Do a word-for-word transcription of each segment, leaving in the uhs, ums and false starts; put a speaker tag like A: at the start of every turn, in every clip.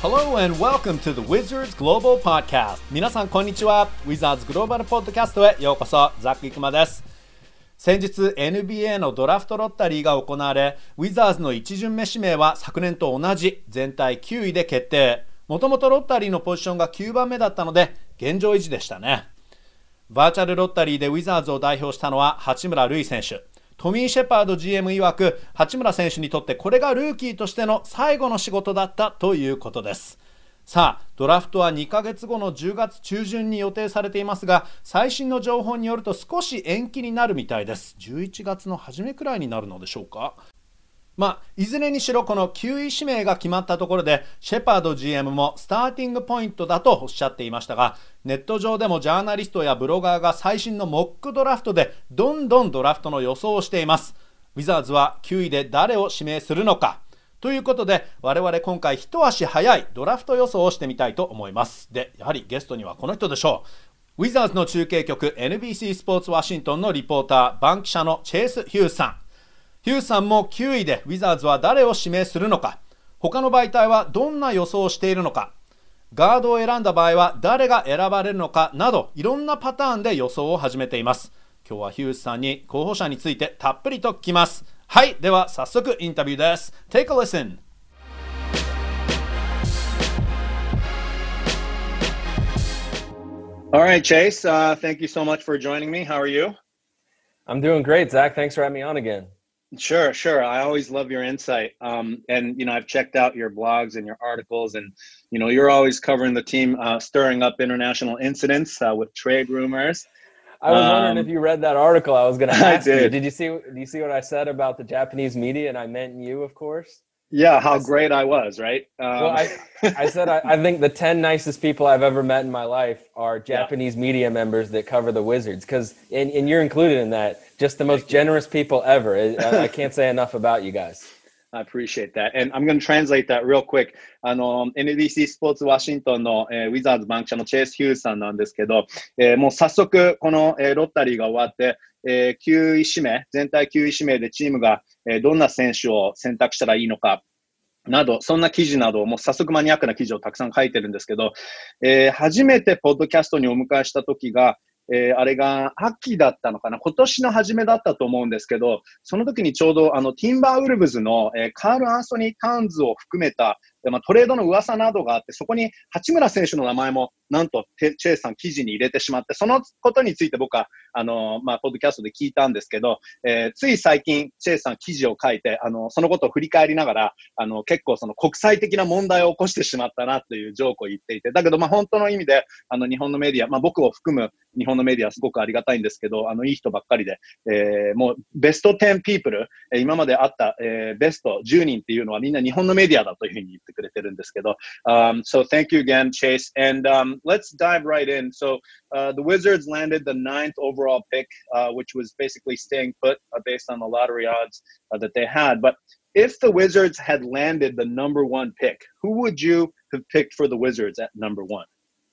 A: Hello and welcome to the Wizards Global Podcast. 皆さんこんにちは。Wizards Global Podcast へようこそ。ザック・イクマです。先日 エヌビーエー のドラフトロッタリーが行われ、ウィザーズの一巡目指名は昨年と同じ全体きゅういで決定。もともとロッタリーのポジションがきゅうばんめだったので現状維持でしたね。バーチャルロッタリーでウィザーズを代表したのは八村塁選手。トミー・シェパード ジーエム 曰く、八村選手にとってこれがルーキーとしての最後の仕事だったということです。さあ、ドラフトはにかげつごのじゅうがつちゅうじゅんに予定されていますが、最新の情報によると少し延期になるみたいです。じゅういちがつの初めくらいになるのでしょうか。まあ、いずれにしろこのきゅうい指名が決まったところで、シェパード ジーエム もスターティングポイントだとおっしゃっていましたが、ネット上でもジャーナリストやブロガーが最新のモックドラフトでどんどんドラフトの予想をしています。ウィザーズはきゅういで誰を指名するのかということで、我々今回一足早いドラフト予想をしてみたいと思います。で、やはりゲストにはこの人でしょう。ウィザーズの中継局 エヌビーシー スポーツワシントンのリポーター、バン記者のチェイス・ヒュースさん。ヒュースさんもきゅういでウィザーズは誰を指名するのか、他の媒体はどんな予想をしているのか、ガードを選んだ場合は誰が選ばれるのかなど、いろんなパターンで予想を始めています。今日はヒュースさんに候補者についてたっぷりと聞きます。はい、では早速インタビューです。 Take a listen.
B: All right, Chase, uh, thank you so much for joining me. How are you?
C: I'm doing great, Zach. Thanks for having me on again.
B: Sure, sure. I always love your insight. Um, and, you know, I've checked out your blogs and your articles, and, you know, you're always covering the team, uh, stirring up international incidents uh, with trade rumors.
C: I was wondering
B: Um,
C: if you read that article. I was going to
B: I
C: ask you.
B: did.
C: Did you see? Do you see what I said about the Japanese media? And I meant you, of course.
B: Yeah, how
C: I s-
B: great I was, right? Um,
C: Well, I I said I, I think the ten nicest people I've ever met in my life are
B: Yeah.
C: Japanese media members that cover the Wizards, because and, and you're included in that. Just the most
B: Thank you.
C: generous people ever. I, I can't say enough about you guys.
B: I appreciate that. And I'm going to translate that real quick. あの、エヌビーシー スポーツワシントンの、えー、ウィザーズバンク社のチェイス・ヒュースさんなんですけど、えーもう早速、この、えーロッタリーが終わって、えーきゅうい指名、全体きゅうい指名でチームが、えーどんな選手を選択したらいいのか、など、そんな記事などを、もう早速マニアックな記事をたくさん書いてるんですけど、えー初めてポッドキャストにお迎えした時が、えーあれが秋だったのかな、今年の初めだったと思うんですけど、その時にちょうどあのティンバーウルブズの、えーカール・アンソニー・タウンズを含めた、えーまあ、トレードの噂などがあって、そこに八村選手の名前もなんとチェイさん記事に入れてしまって、そのことについて僕はあの、まあ、ポッドキャストで聞いたんですけど、えーつい最近チェイさん記事を書いて、あのそのことを振り返りながら、あの結構その国際的な問題を起こしてしまったなというジョークを言っていて、だけどまあ本当の意味であの日本のメディア、まあ、僕を含む日本のメディアはすごくありがたいんですけど、あのいい人ばっかりで、えーもうベストじゅうピープル、えー今まであった、えーベストじゅうにんっていうのはみんな日本のメディアだというふうに言ってくれてるんですけど、um, so thank you again, Chase. And um, let's dive right in. So uh, the Wizards landed the ninth overall pick, uh, which was basically staying put uh, based on the lottery odds uh, that they had. But if the Wizards had landed the number one pick, who would you have picked for the Wizards at number one?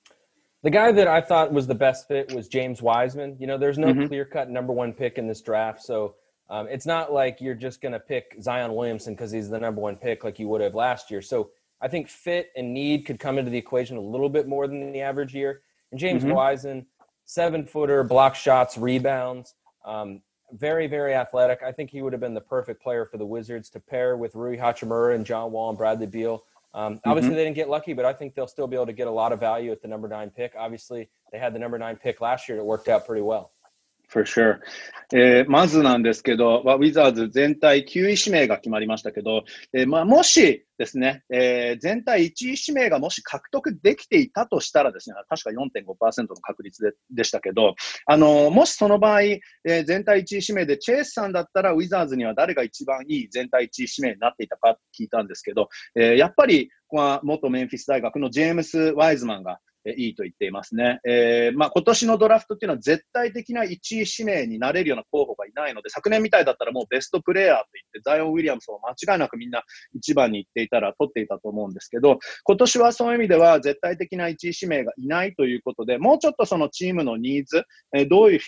C: The guy that I thought was the best fit was James Wiseman. You know, there's no
B: Mhm.
C: clear-cut number one pick in this draft, so um, it's not like you're just going to pick Zion Williamson because he's the number one pick like you would have last year. So I think fit and need could come into the equation a little bit more than the average year. And James
B: Mhm.
C: Wiseman, seven-footer, block shots, rebounds, um, very, very athletic. I think he would have been the perfect player for the Wizards to pair with Rui Hachimura and John Wall and Bradley Beal. Um, obviously,
B: Mhm.
C: they didn't get lucky, but I think they'll still be able to get a lot of value at the number nine pick. Obviously, they had the number nine pick last year. It worked out pretty well.
B: For sure. えーまずなんですけど、まあウィザーズ全体きゅうい指名が決まりましたけど、えーまあ、もしですね、えー全体いちい指名がもし獲得できていたとしたらですね、確か よんてんごパーセント の確率ででしたけど、あのーもしその場合、えー全体いちい指名でチェイスさんだったらウィザーズには誰が一番いい全体いちい指名になっていたか聞いたんですけど、えーやっぱり、まあ、元メンフィス大学のジェームス・ワイズマンがいいと言っていますね。えーまあ、今年のドラフトっていうのは絶対的ないちい指名になれるような候補がいないので、昨年みたいだったらもうベストプレイヤーと言ってザイオン・ウィリアムスを間違いなくみんないちばんに行っていたら取っていたと思うんですけど、今年はそういう意味では絶対的ないちい指名がいないということで、もうちょっとそのチームのニーズ、えーどういうフィット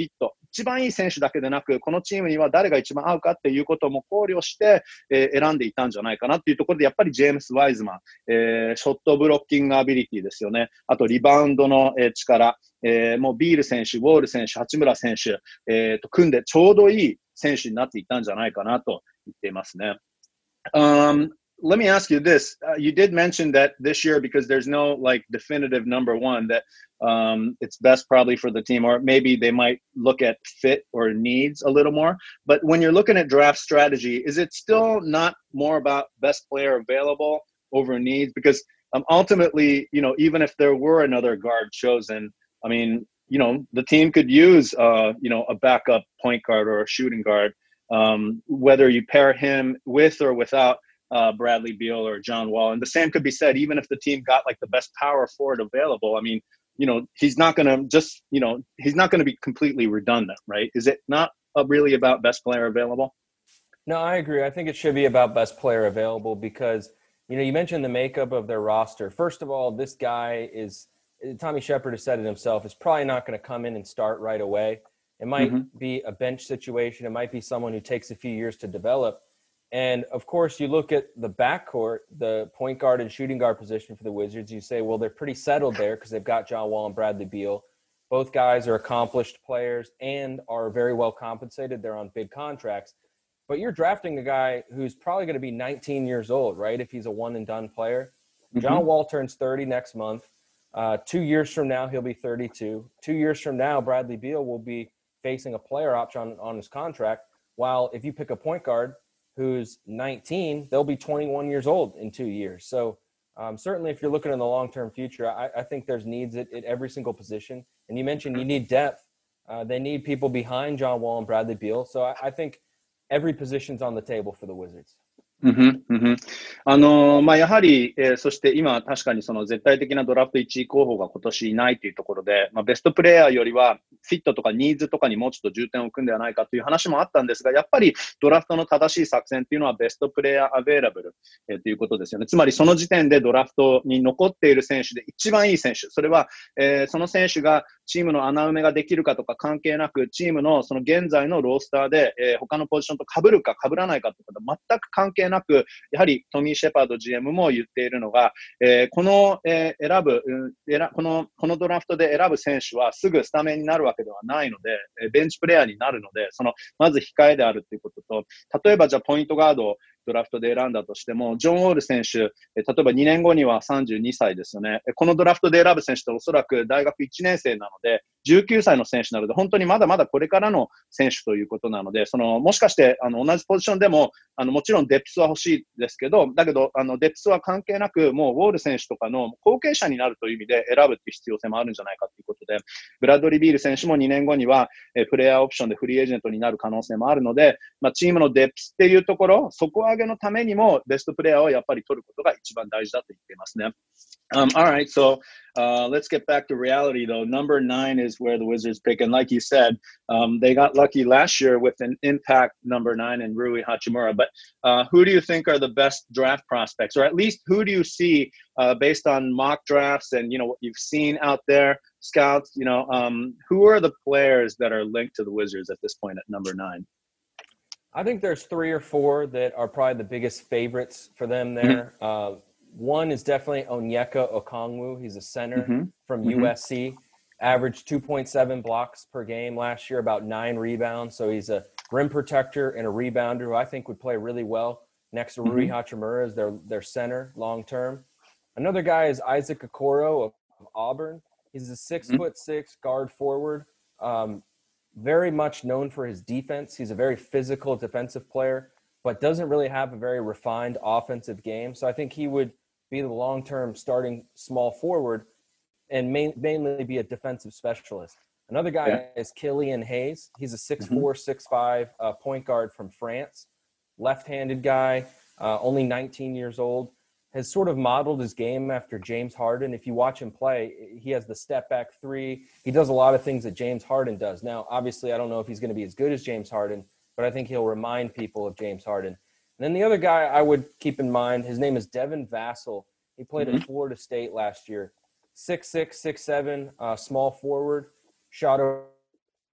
B: 一番いい選手だけでなく、このチームには誰が一番合うかっていうことも考慮して、えー、選んでいたんじゃないかなっていうところで、やっぱりジェームス・ワイズマン、えー、ショットブロッキングアビリティですよね。あとリバウンドの、えー、力、えー、もうビール選手、ウォール選手、八村選手、えー、と組んでちょうどいい選手になっていたんじゃないかなと言っていますね。Um, let me ask you this. Uh, you did mention that this year, because there's no like definitive number one, that um, it's best probably for the team, or maybe they might look at fit or needs a little more. But when you're looking at draft strategy, is it still not more about best player available over needs? Because um, ultimately, you know, even if there were another guard chosen, I mean, you know, the team could use, uh, you know, a backup point guard or a shooting guard. Um, whether you pair him with or without uh, Bradley Beal or John Wall. And the same could be said, even if the team got like the best power forward available. I mean, you know, he's not going to just, you know, he's not going to be completely redundant, right? Is it not uh, really about best player available?
C: No, I agree. I think it should be about best player available because, you know, you mentioned the makeup of their roster. First of all, this guy is, Tommy Shepard has said it himself, is probably not going to come in and start right away. It might mm-hmm. be a bench situation. It might be someone who takes a few years to develop. And, of course, you look at the backcourt, the point guard and shooting guard position for the Wizards. You say, well, they're pretty settled there because they've got John Wall and Bradley Beal. Both guys are accomplished players and are very well compensated. They're on big contracts. But you're drafting a guy who's probably going to be nineteen years old, right, if he's a one-and-done player. Mm-hmm. John Wall turns thirty next month. Uh, two years from now, he'll be thirty-two. Two years from now, Bradley Beal will be facing a player option on, on his contract, while if you pick a point guard who's nineteen, they'll be twenty-one years old in two years. So um, certainly if you're looking in the long-term future, I, I think there's needs at, at every single position. And you mentioned you need depth. Uh, they need people behind John Wall and Bradley Beal. So I, I think every position's on the table for the Wizards.
B: うんふん、うんふん。あのー、まあ、やはり、えー、そして今、確かにその絶対的なドラフトいちい候補が今年いないというところで、まあ、ベストプレイヤーよりは、フィットとかニーズとかにもうちょっと重点を置くんではないかという話もあったんですが、やっぱりドラフトの正しい作戦っていうのはベストプレイヤーアベイラブル、えー、ということですよね。つまりその時点でドラフトに残っている選手で一番いい選手、それは、えー、その選手がチームの穴埋めができるかとか関係なく、チームのその現在のロースターで、えー、他のポジションと被るか被らないかということは全く関係なく、やはりトミー・シェパード ジーエム も言っているのが、えー、この、えー、選ぶ、うん、選この、このドラフトで選ぶ選手はすぐスタメンになるわけではないので、えー、ベンチプレイヤーになるので、その、まず控えであるということと、例えばじゃあポイントガードをドラフトで選んだとしても、ジョン・ウォール選手、例えばにねんごにはさんじゅうにさいですよね。このドラフトで選ぶ選手っておそらく大学いちねん生なので、じゅうきゅうさいの選手なので、本当にまだまだこれからの選手ということなので、その、もしかして、あの、同じポジションでも、あの、もちろんデプスは欲しいですけど、だけど、あの、デプスは関係なく、もうウォール選手とかの後継者になるという意味で選ぶっていう必要性もあるんじゃないかということで、ブラッドリー・ビール選手もにねんごには、えプレイヤーオプションでフリーエージェントになる可能性もあるので、まあ、チームのデプスっていうところ、底上げのためにも、ベストプレイヤーをやっぱり取ることが一番大事だと言っていますね。Um, all right, so uh, let's get back to reality, though. Number nine is where the Wizards pick. And like you said, um, they got lucky last year with an impact number nine in Rui Hachimura. But uh, who do you think are the best draft prospects? Or at least who do you see uh, based on mock drafts and, you know, what you've seen out there, scouts, you know, um, who are the players that are linked to the Wizards at this point at number nine?
C: I think there's three or four that are probably the biggest favorites for them there. Mm-hmm. Uh, one is definitely Onyeka Okongwu. He's a center mm-hmm. from mm-hmm. U S C. Averaged two point seven blocks per game last year, about nine rebounds. So he's a rim protector and a rebounder who I think would play really well next to mm-hmm. Rui Hachimura as their, their center long term. Another guy is Isaac Okoro of, of Auburn. He's a six mm-hmm. foot six guard forward. Um, very much known for his defense. He's a very physical defensive player, but doesn't really have a very refined offensive game. So I think he would be the long-term starting small forward and main, mainly be a defensive specialist. Another guy yeah. is Killian Hayes. He's a six four, mm-hmm. six five uh, point guard from France. Left-handed guy, uh, only nineteen years old. Has sort of modeled his game after James Harden. If you watch him play, he has the step-back three. He does a lot of things that James Harden does. Now, obviously, I don't know if he's going to be as good as James Harden, but I think he'll remind people of James Harden. And then the other guy I would keep in mind, his name is Devin Vassell. He played mm-hmm. at Florida State last year. six six, six seven, uh, small forward, shot over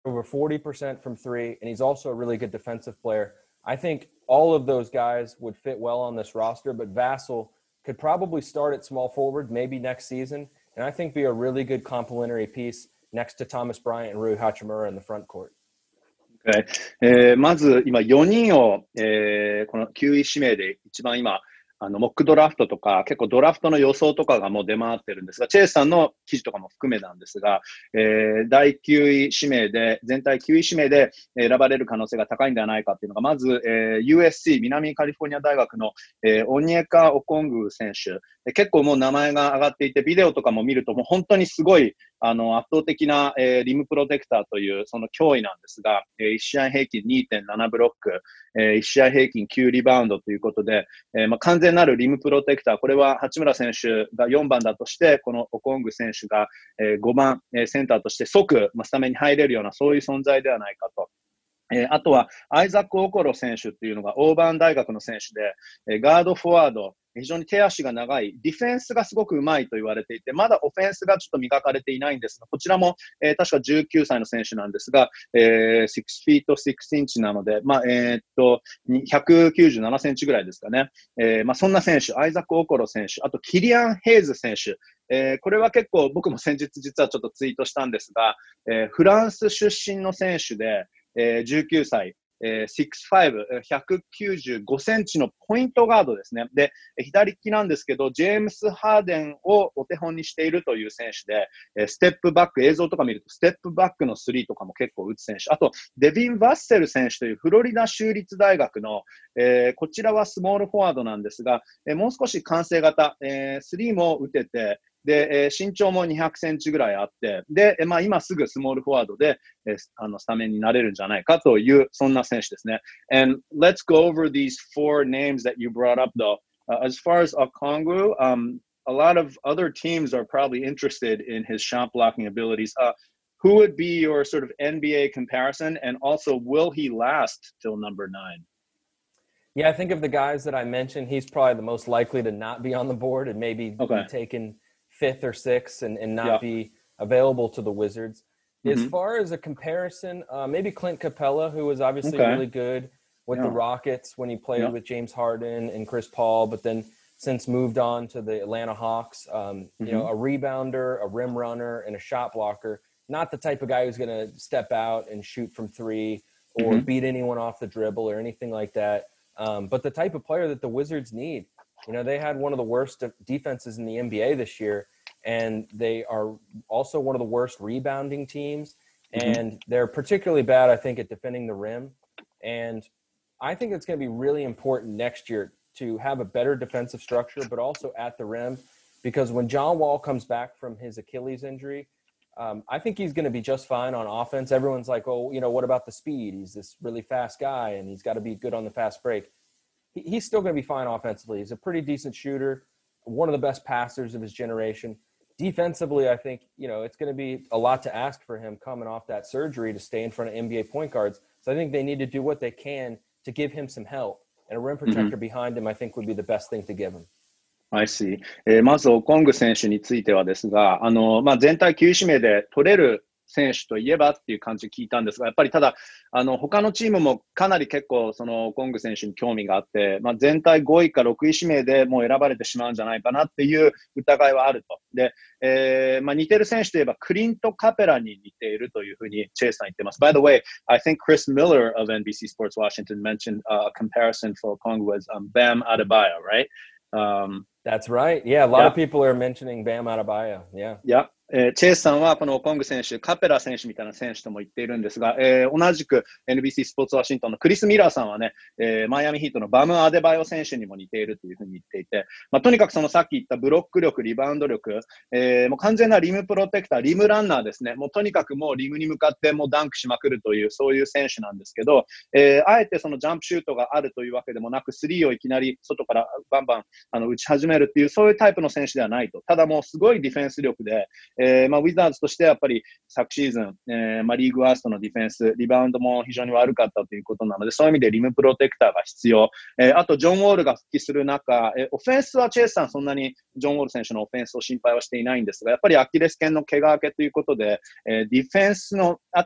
C: over forty percent from three, and he's also a really good defensive player. I think all of those guys would fit well on this roster, but Vassell could probably start at small forward maybe next season, and I think be a really good complementary piece next to Thomas Bryant and Rui Hachimura in the front court.
B: Okay. えー、まず今よにんを、えー、このきゅうい指名で一番今あのモックドラフトとか結構ドラフトの予想とかがもう出回ってるんですが、チェイスさんの記事とかも含めなんですが、えー、だいきゅうい指名で全体きゅうい指名で選ばれる可能性が高いんではないかっていうのが、まず、えー、ユーエスシー 南カリフォルニア大学の、えー、オニエカ・オコング選手、結構もう名前が上がっていて、ビデオとかも見るともう本当にすごいあの圧倒的な、えー、リムプロテクターというその脅威なんですが、えー、いち試合平均 にてんなな ブロック、えー、いち試合平均きゅうリバウンドということで、えーまあ、完全なるリムプロテクター、これは八村選手がよんばんだとして、このオコング選手が、えー、ごばん、えー、センターとして即、まあ、スタメンに入れるようなそういう存在ではないかと。えー、あとはアイザック・オコロ選手っていうのがオーバーン大学の選手で、えー、ガードフォワード、非常に手足が長い、ディフェンスがすごく上手いと言われていて、まだオフェンスがちょっと磨かれていないんですが、こちらも、えー、確かじゅうきゅうさいの選手なんですが、えー、ろくフィートろくインチなので、まあ、えー、っと、ひゃくきゅうじゅうななセンチぐらいですかね。えー、まあ、そんな選手、アイザック・オコロ選手、あとキリアン・ヘイズ選手、えー、これは結構僕も先日実はちょっとツイートしたんですが、えー、フランス出身の選手で、えー、じゅうきゅうさい、えー、ろくファイブ、ひゃくきゅうじゅうごセンチのポイントガードですね。で、左利きなんですけど、ジェームス・ハーデンをお手本にしているという選手で、えー、ステップバック、映像とか見ると、ステップバックのスリーとかも結構打つ選手。あと、デビン・バッセル選手というフロリダ州立大学の、えー、こちらはスモールフォワードなんですが、えー、もう少し完成型、えー、スリーも打てて、で、えー、身長もにひゃくセンチぐらいあって、で、えー、まあ今すぐスモールフォワードで、えー、あのスタメンになれるんじゃないかという、そんな選手ですね。And let's go over these four names that you brought up though. Uh, as far as Okongwu, um, a lot of other teams are probably interested in his shot blocking abilities. Uh, who would be your sort of N B A comparison? And also, will he last till number nine?
C: Yeah, I think of the guys that I mentioned, he's probably the most likely to not be on the board and maybe okay. be taken fifth or sixth and, and not yeah. be available to the Wizards. Mm-hmm. As far as a comparison, uh, maybe Clint Capella, who was obviously okay. really good with yeah. the Rockets when he played yeah. with James Harden and Chris Paul, but then since moved on to the Atlanta Hawks, um, mm-hmm. you know, a rebounder, a rim runner, and a shot blocker. Not the type of guy who's going to step out and shoot from three or mm-hmm. beat anyone off the dribble or anything like that. Um, but the type of player that the Wizards need. You know, they had one of the worst defenses in the N B A this year, and they are also one of the worst rebounding teams. Mm-hmm. And they're particularly bad, I think, at defending the rim. And I think it's going to be really important next year to have a better defensive structure, but also at the rim, because when John Wall comes back from his Achilles injury, um, I think he's going to be just fine on offense. Everyone's like, oh, you know, what about the speed? He's this really fast guy, and he's got to be good on the fast break. He, he's still going to be fine offensively. He's a pretty decent shooter, one of the best passers of his generation. Defensively, I think, you know, it's going to be a lot to ask for him coming off that surgery to stay in front of N B A point guards. So I think they need to do what they can to give him some help. And a rim protector mm-hmm. behind him, I think, would be the best thing to give him.
B: I see. えー、まずオコング選手についてはですが、あのまあ、全体きゅう指名で取れる選手といえばっていう感じで聞いたんですが、やっぱりただあの他のチームもかなり結構そのオコング選手に興味があって、まあ、全体ごいかろくい指名でもう選ばれてしまうんじゃないかなっていう疑いはあると。で、えーまあ、似てる選手といえばクリント・カペラに似ているというふうにチェイさん言ってます。By the way, I think Chris Miller of N B C Sports Washington mentioned a comparison for Okongwu as um, Bam Adebayo, right? Um,
C: That's right. Yeah, a lot
B: yeah.
C: of people are mentioning Bam Adebayo. Yeah.
B: Yeah. えー、チェイスさんはこのオコング選手、カペラ選手みたいな選手とも言っているんですが、えー、同じく エヌビーシー スポーツワシントンのクリス・ミラーさんはね、えー、マイアミヒートのバム・アデバイオ選手にも似ているというふうに言っていて、まあ、とにかくそのさっき言ったブロック力、リバウンド力、えー、もう完全なリムプロテクター、リムランナーですね。もうとにかくもうリムに向かってもうダンクしまくるという、そういう選手なんですけど、えー、あえてそのジャンプシュートがあるというわけでもなく、スリーをいきなり外からバンバンあの打ち始めるっていう、そういうタイプの選手ではないと。ただもうすごいディフェンス力で、えーまあ、ウィザーズとしてやっぱり昨シーズン、えーまあ、リーグワーストのディフェンス、リバウンドも非常に悪かったということなので、そういう意味でリムプロテクターが必要。えー、あと、ジョン・ウォールが復帰する中、えー、オフェンスはチェイスさんそんなにジョン・ウォール選手のオフェンスを心配はしていないんですが、やっぱりアキレス腱の怪我明けということで、えー、ディフェンスのあたり、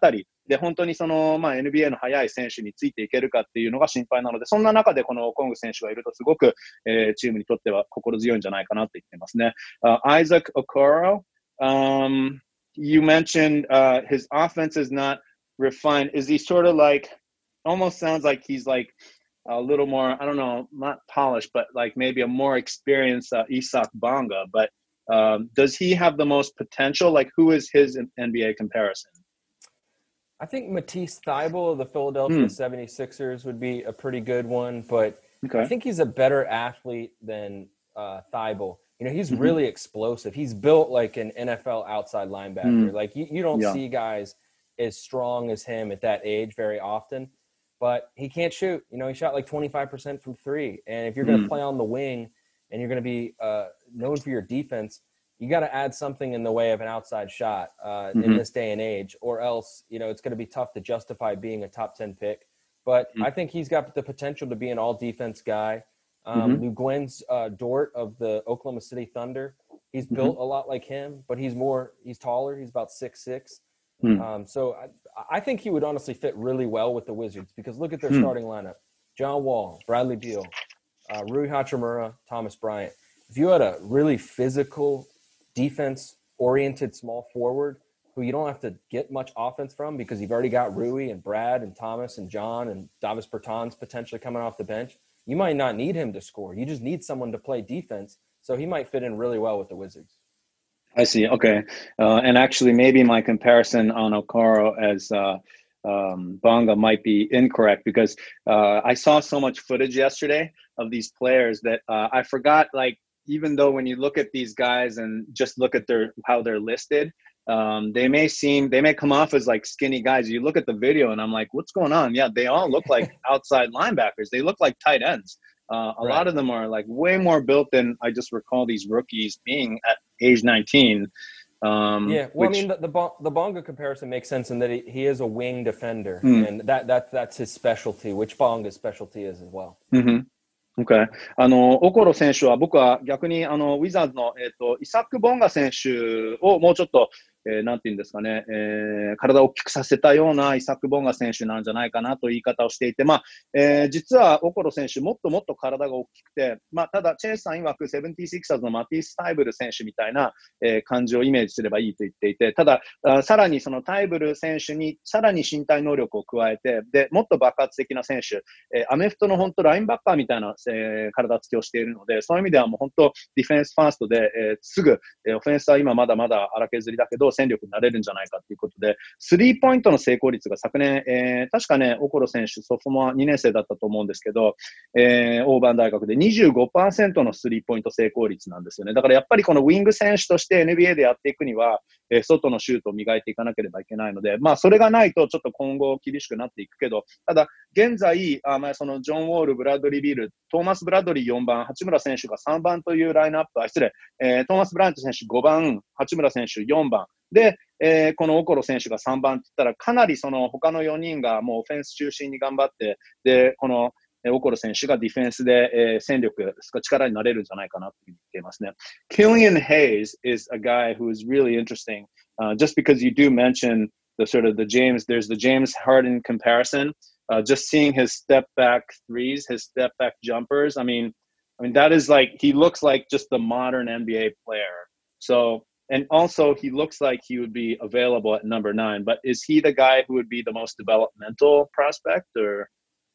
B: で、本当にその、まあ、エヌビーエー の速い選手についていけるかっていうのが心配なので、そんな中でこのコング選手がいるとすごく、えー、チームにとっては心強いんじゃないかなと言ってますね。Uh, Isaac Okoro, um, you mentioned uh, his offense is not refined. Is he sort of like, almost sounds like he's like a little more, I don't know, not polished, but like maybe a more experienced uh, Isak Bonga. But um, does he have the most potential? Like, who is his N B A comparison?
C: I think Matisse Thybulle of the Philadelphia mm. seventy-sixers would be a pretty good one, but okay. I think he's a better athlete than uh, Thybulle. You know, he's mm-hmm. really explosive. He's built like an N F L outside linebacker. Mm. Like, you, you don't yeah. see guys as strong as him at that age very often, but he can't shoot. You know, he shot like twenty-five percent from three. And if you're going to mm. play on the wing and you're going to be uh, known for your defense, you got to add something in the way of an outside shot uh, mm-hmm. in this day and age, or else, you know, it's going to be tough to justify being a top ten pick. But mm-hmm. I think he's got the potential to be an all defense guy. Um, mm-hmm. Lou Gwen's uh, Dort of the Oklahoma City Thunder, he's mm-hmm. built a lot like him, but he's more, he's taller. He's about six six. Mm-hmm. Um, so I, I think he would honestly fit really well with the Wizards, because look at their mm-hmm. starting lineup: John Wall, Bradley Beal, uh, Rui Hachimura, Thomas Bryant. If you had a really physical, defense-oriented small forward who you don't have to get much offense from, because you've already got Rui and Brad and Thomas and John and Davis Bertans potentially coming off the bench, you might not need him to score. You just need someone to play defense. So he might fit in really well with the Wizards.
B: I see. Okay. Uh, and actually, maybe my comparison on Okoro as uh, um, Bonga might be incorrect, because uh, I saw so much footage yesterday of these players that uh, I forgot, like, even though when you look at these guys and just look at their how they're listed, um, they may seem, they may come off as like skinny guys. You look at the video and I'm like, what's going on? Yeah, they all look like outside linebackers. They look like tight ends. Uh, a right. lot of them are like way more built than I just recall these rookies being at age nineteen. Um,
C: yeah, well, which, I mean, the, the the Bonga comparison makes sense in that he, he is a wing defender, mm. and that that that's his specialty, which Bonga's specialty is as well.
B: Mm-hmm.Okay. あの、オコロ選手は僕は逆にあの、ウィザーズの、えっと、イサック・ボンガ選手をもうちょっと、えー、なんていうんですかね、えー、体を大きくさせたようなイサック・ボンガ選手なんじゃないかなという言い方をしていて、まあ、えー、実はオコロ選手もっともっと体が大きくて、まあ、ただ、チェイスさん曰くセブンティシクサーズのマティス・タイブル選手みたいな、えー、感じをイメージすればいいと言っていて、ただ、さらにそのタイブル選手にさらに身体能力を加えて、で、もっと爆発的な選手、えー、アメフトの本当ラインバッカーみたいな、えー、体つきをしているので、そういう意味ではもう本当ディフェンスファーストで、えー、すぐ、えー、オフェンスは今まだまだ荒削りだけど戦力になれるんじゃないかということで、スリーポイントの成功率が昨年、えー、確かね、オコロ選手、ソフトモアにねん生だったと思うんですけど、えー、オーバーン大学で にじゅうごパーセント のスリーポイント成功率なんですよね。だからやっぱりこのウィング選手として エヌビーエー でやっていくには、えー、外のシュートを磨いていかなければいけないので、まあそれがないとちょっと今後厳しくなっていくけど、ただ現在、あまあそのジョン・ウォール、ブラッドリー・ビール、トーマス・ブラッドリーよんばん、八村選手がさんばんというラインナップ、あ、失礼、えー、トーマス・ブライアント選手ごばん、八村選手よんばん、で、えー、このオコロ選手がさんばんって言ったら、かなりその他のよにんがもうオフェンス中心に頑張って、で、このオコロ選手がディフェンスで、えー、戦力、力になれるんじゃないかなと言っていますね。Killian Hayes is a guy who is really interesting, uh, just because you do mention the sort of the James, there's the James Harden comparison, uh, just seeing his step back threes, his step back jumpers. I mean, I mean, that is like, he looks like just the modern N B A player. So, and also he looks like he would be available at number nine, but is he the guy who would be the most developmental prospect or?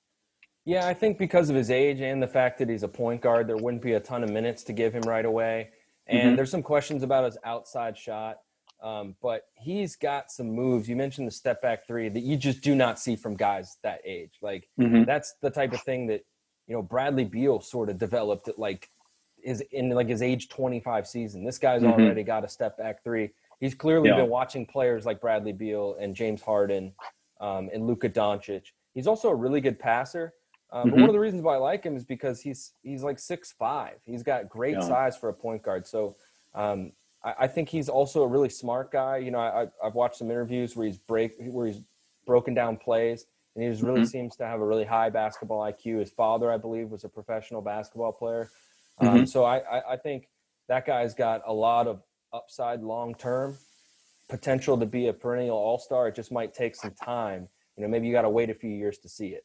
C: Yeah, I think because of his age and the fact that he's a point guard, there wouldn't be a ton of minutes to give him right away. And mm-hmm. there's some questions about his outside shot. Um, but he's got some moves. You mentioned the step back three that you just do not see from guys that age. Like mm-hmm. that's the type of thing that, you know, Bradley Beal sort of developed at like is in like his age twenty-five season. This guy's mm-hmm. already got a step back three. He's clearly yeah. been watching players like Bradley Beal and James Harden um, and Luka Doncic. He's also a really good passer. Um, mm-hmm. But one of the reasons why I like him is because he's he's like six five. He's got great yeah. size for a point guard. So um, I, I think he's also a really smart guy. You know, I, I've watched some interviews where he's break where he's broken down plays, and he just really mm-hmm. seems to have a really high basketball I Q. His father, I believe, was a professional basketball player. Um, mm-hmm. So I, I, I think that guy's got a lot of upside long term. potential to be a perennial all-star. It just might take some time. You know, maybe you got to wait a few years to see it.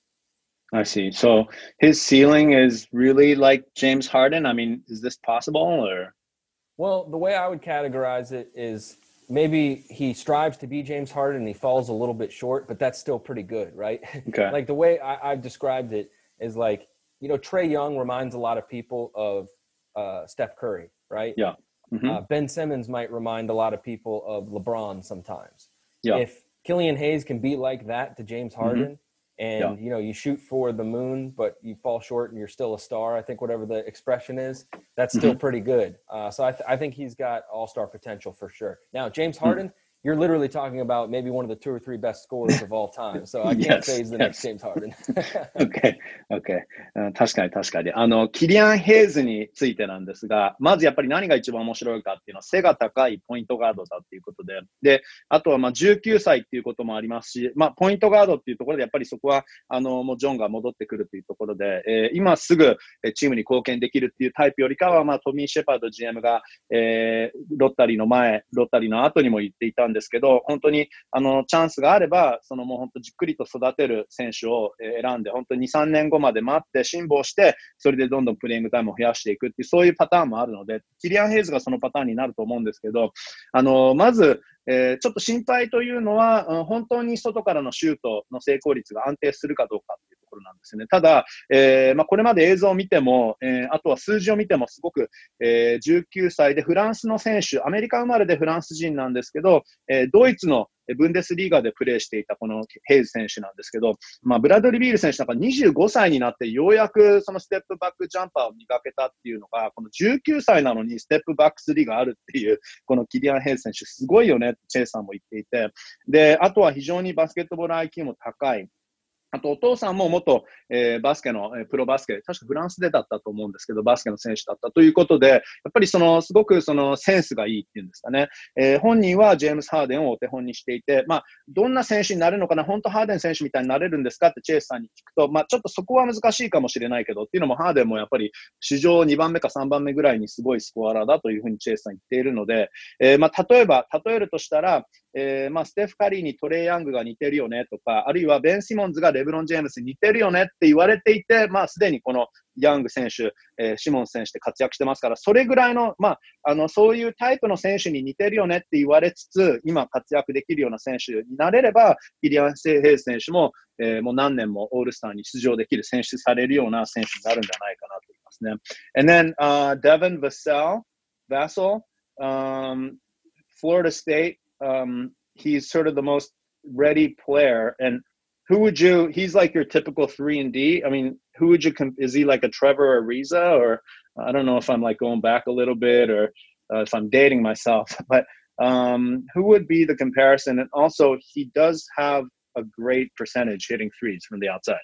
B: I see. So his ceiling is really like James Harden. I mean, is this possible or?
C: Well, the way I would categorize it is maybe he strives to be James Harden and he falls a little bit short, but that's still pretty good, right?
B: Okay.
C: Like the way I, I've described it is like, you know, Trae Young reminds a lot of people of uh, Steph Curry, right?
B: Yeah. Mm-hmm.
C: Uh, Ben Simmons might remind a lot of people of LeBron sometimes.
B: Yeah.
C: If Killian Hayes can be like that to James Harden, mm-hmm. and, yeah. you know, you shoot for the moon, but you fall short and you're still a star, I think whatever the expression is, that's still mm-hmm. pretty good. Uh, so I, th- I think he's got all-star potential for sure. Now, James Harden, mm-hmm. you're literally talking about maybe one of the two or three best scorers of all time. So I can't
B: yes,
C: say he's the
B: yes.
C: next James Harden.
B: okay, okay. 確かに確かに。あの、キリアン・ヘイズについてなんですが、まずやっぱり何が一番面白いかっていうのは背が高いポイントガードだっていうことで、で、あとはまあじゅうきゅうさいっていうこともありますし、まあポイントガードっていうところでやっぱりそこは、あの、もうジョンが戻ってくるっていうところで、えー、今すぐチームに貢献できるっていうタイプよりかは、まあトミー・シェパード ジーエム が、えー、ロッタリーの前、ロッタリーの後にも言っていたんですけど、本当にあのチャンスがあれば、そのもう本当じっくりと育てる選手を選んで、本当にに、さんねんごまで待って辛抱して、それでどんどんプレイングタイムを増やしていくっていう、そういうパターンもあるので、キリアン・ヘイズがそのパターンになると思うんですけど、あの、まず、えー、ちょっと心配というのは、うん、本当に外からのシュートの成功率が安定するかどうかっていうところなんですよね。ただ、えーまあ、これまで映像を見ても、えー、あとは数字を見てもすごく、えー、じゅうきゅうさいでフランスの選手、アメリカ生まれでフランス人なんですけど、えー、ドイツのブンデスリーガでプレーしていたこのヘイズ選手なんですけど、まあ、ブラッドリー・ビール選手なんかにじゅうごさいになってようやくそのステップバックジャンパーを磨けたっていうのが、このじゅうきゅうさいなのにステップバックスリーがあるっていう、このキリアン・ヘイズ選手すごいよねってチェイさんも言っていて、で、あとは非常にバスケットボール アイキュー も高い。あと、お父さんも元、えー、バスケの、えー、プロバスケ、確かフランスでだったと思うんですけど、バスケの選手だったということで、やっぱりその、すごくそのセンスがいいっていうんですかね。えー、本人はジェームス・ハーデンをお手本にしていて、まあ、どんな選手になるのかな、本当ハーデン選手みたいになれるんですかってチェイスさんに聞くと、まあ、ちょっとそこは難しいかもしれないけど、っていうのもハーデンもやっぱり史上にばんめかさんばんめぐらいにすごいスコアラーだというふうにチェイスさん言っているので、えー、まあ、例えば、例えるとしたら、えー、まあ、ステフ・カリーにトレイ・ヤングが似てるよねとか、あるいはベン・シモンズがレブロン・ジェームスに似てるよねって言われていて、まあ、すでにこのヤング選手、えー、シモンズ選手で活躍してますから、それぐらいの、まあ、あの、そういうタイプの選手に似てるよねって言われつつ、今活躍できるような選手になれれば、キリアン・ヘイズ選手も、えー、もう何年もオールスターに出場できる、選出されるような選手になるんじゃないかなと思いますね。And then, uh, Devin Vassell, Vassell, um, Florida State, um, he's sort of the most ready player. And who would you, he's like your typical three and D. I mean, who would you, is he like a Trevor Ariza? Or I don't know if I'm like going back a little bit or uh, if I'm dating myself, but um, who would be the comparison? And also, he does have a great percentage hitting threes from the outside.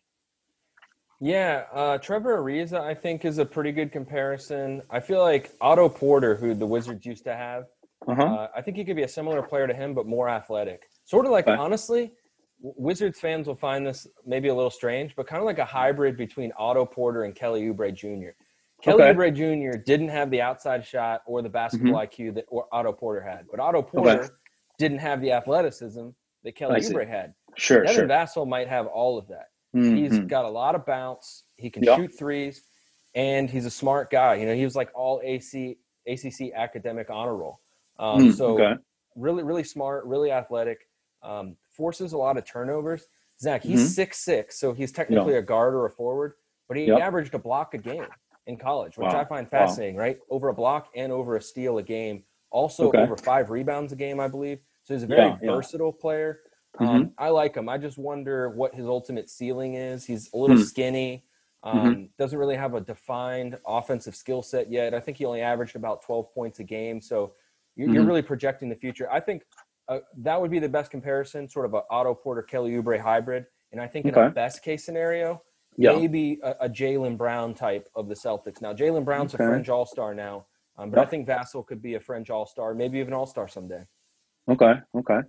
C: Yeah, uh, Trevor Ariza, I think, is a pretty good comparison. I feel like Otto Porter, who the Wizards used to have, uh-huh. uh, I think he could be a similar player to him, but more athletic. Sort of like, okay. honestly, Wizards fans will find this maybe a little strange, but kind of like a hybrid between Otto Porter and Kelly Oubre Junior Kelly okay. Oubre Junior didn't have the outside shot or the basketball mm-hmm. I Q that Otto Porter had, but Otto Porter okay. didn't have the athleticism that Kelly Oubre had.
B: Sure,
C: Devin
B: sure.
C: Vassell might have all of that. Mm-hmm. He's got a lot of bounce. He can
B: yep.
C: shoot threes, and he's a smart guy. You know, he was like all A C, A C C academic honor roll. Um, mm, so okay. really, really smart, really athletic, um, forces a lot of turnovers. Zach, he's mm-hmm. six six, so he's technically yeah. a guard or a forward, but he yep. averaged a block a game in college, which wow. I find fascinating, wow. right? Over a block and over a steal a game. Also okay. over five rebounds a game, I believe. So he's a very yeah, versatile yeah. player. Um, mm-hmm. I like him. I just wonder what his ultimate ceiling is. He's a little mm-hmm. skinny. Um, mm-hmm. Doesn't really have a defined offensive skill set yet. I think he only averaged about twelve points a game. So you're, mm-hmm. you're really projecting the future. I think uh, that would be the best comparison, sort of a Otto Porter, Kelly Oubre hybrid. And I think okay. in a best case scenario, yeah. maybe a, a Jaylen Brown type of the Celtics. Now, Jaylen Brown's okay. a fringe all-star now, um, but yeah. I think Vassell could be a fringe all-star, maybe even all-star someday.
B: Okay, okay.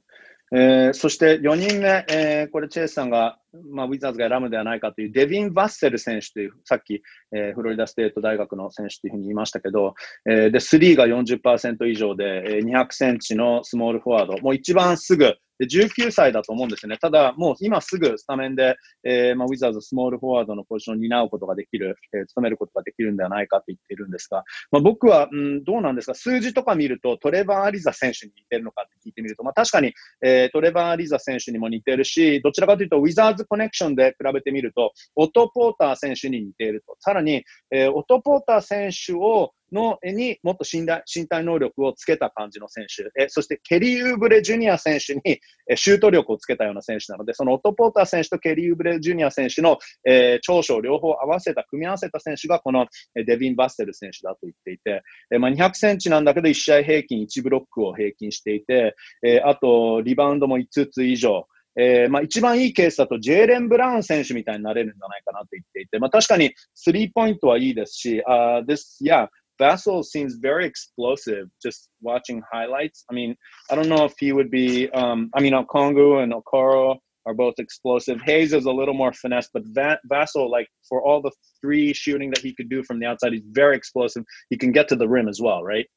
B: えー、そしてよにんめ、えー、これチェイスさんが、まあ、ウィザーズが選ぶではないかというデビン・バッセル選手という、さっき、えー、フロリダステート大学の選手というふうに言いましたけど、えー、で、スリーが よんじゅっパーセント 以上で、えー、にひゃくセンチのスモールフォワード、もう一番すぐ、でじゅうきゅうさいだと思うんですよね。ただ、もう今すぐスタメンで、えーまあ、ウィザーズスモールフォワードのポジションを担うことができる、えー、務めることができるんではないかと言っているんですが、まあ、僕は、うん、どうなんですか、数字とか見るとトレバー・アリザ選手に似てるのかって聞いてみると、まあ、確かに、えー、トレバー・アリザ選手にも似てるし、どちらかというとウィザーズコネクションで比べてみると、オト・ポーター選手に似ていると。さらに、えー、オト・ポーター選手をのにもっと身体身体能力をつけた感じの選手、えそしてケリー・ウーブレ・ジュニア選手にえシュート力をつけたような選手なので、そのオト・ポーター選手とケリー・ウーブレ・ジュニア選手の、えー、長所を両方合わせた、組み合わせた選手がこのデビン・バッセル選手だと言っていて、えーまあ、にひゃくセンチなんだけどいち試合平均いちブロックを平均していて、えー、あとリバウンドもいつつ以上、えーまあ、一番いいケースだとジェーレン・ブラウン選手みたいになれるんじゃないかなと言っていて、まあ、確かにスリーポイントはいいですし、uh, this, yeah, Vassell seems very explosive just watching highlights. I mean, I don't know if he would be, um, I mean, Okongu and Okoro are both explosive. Hayes is a little more finesse, but Va- Vassell, like for all the three shooting that he could do from the outside, he's very explosive. He can get to the rim as well, right?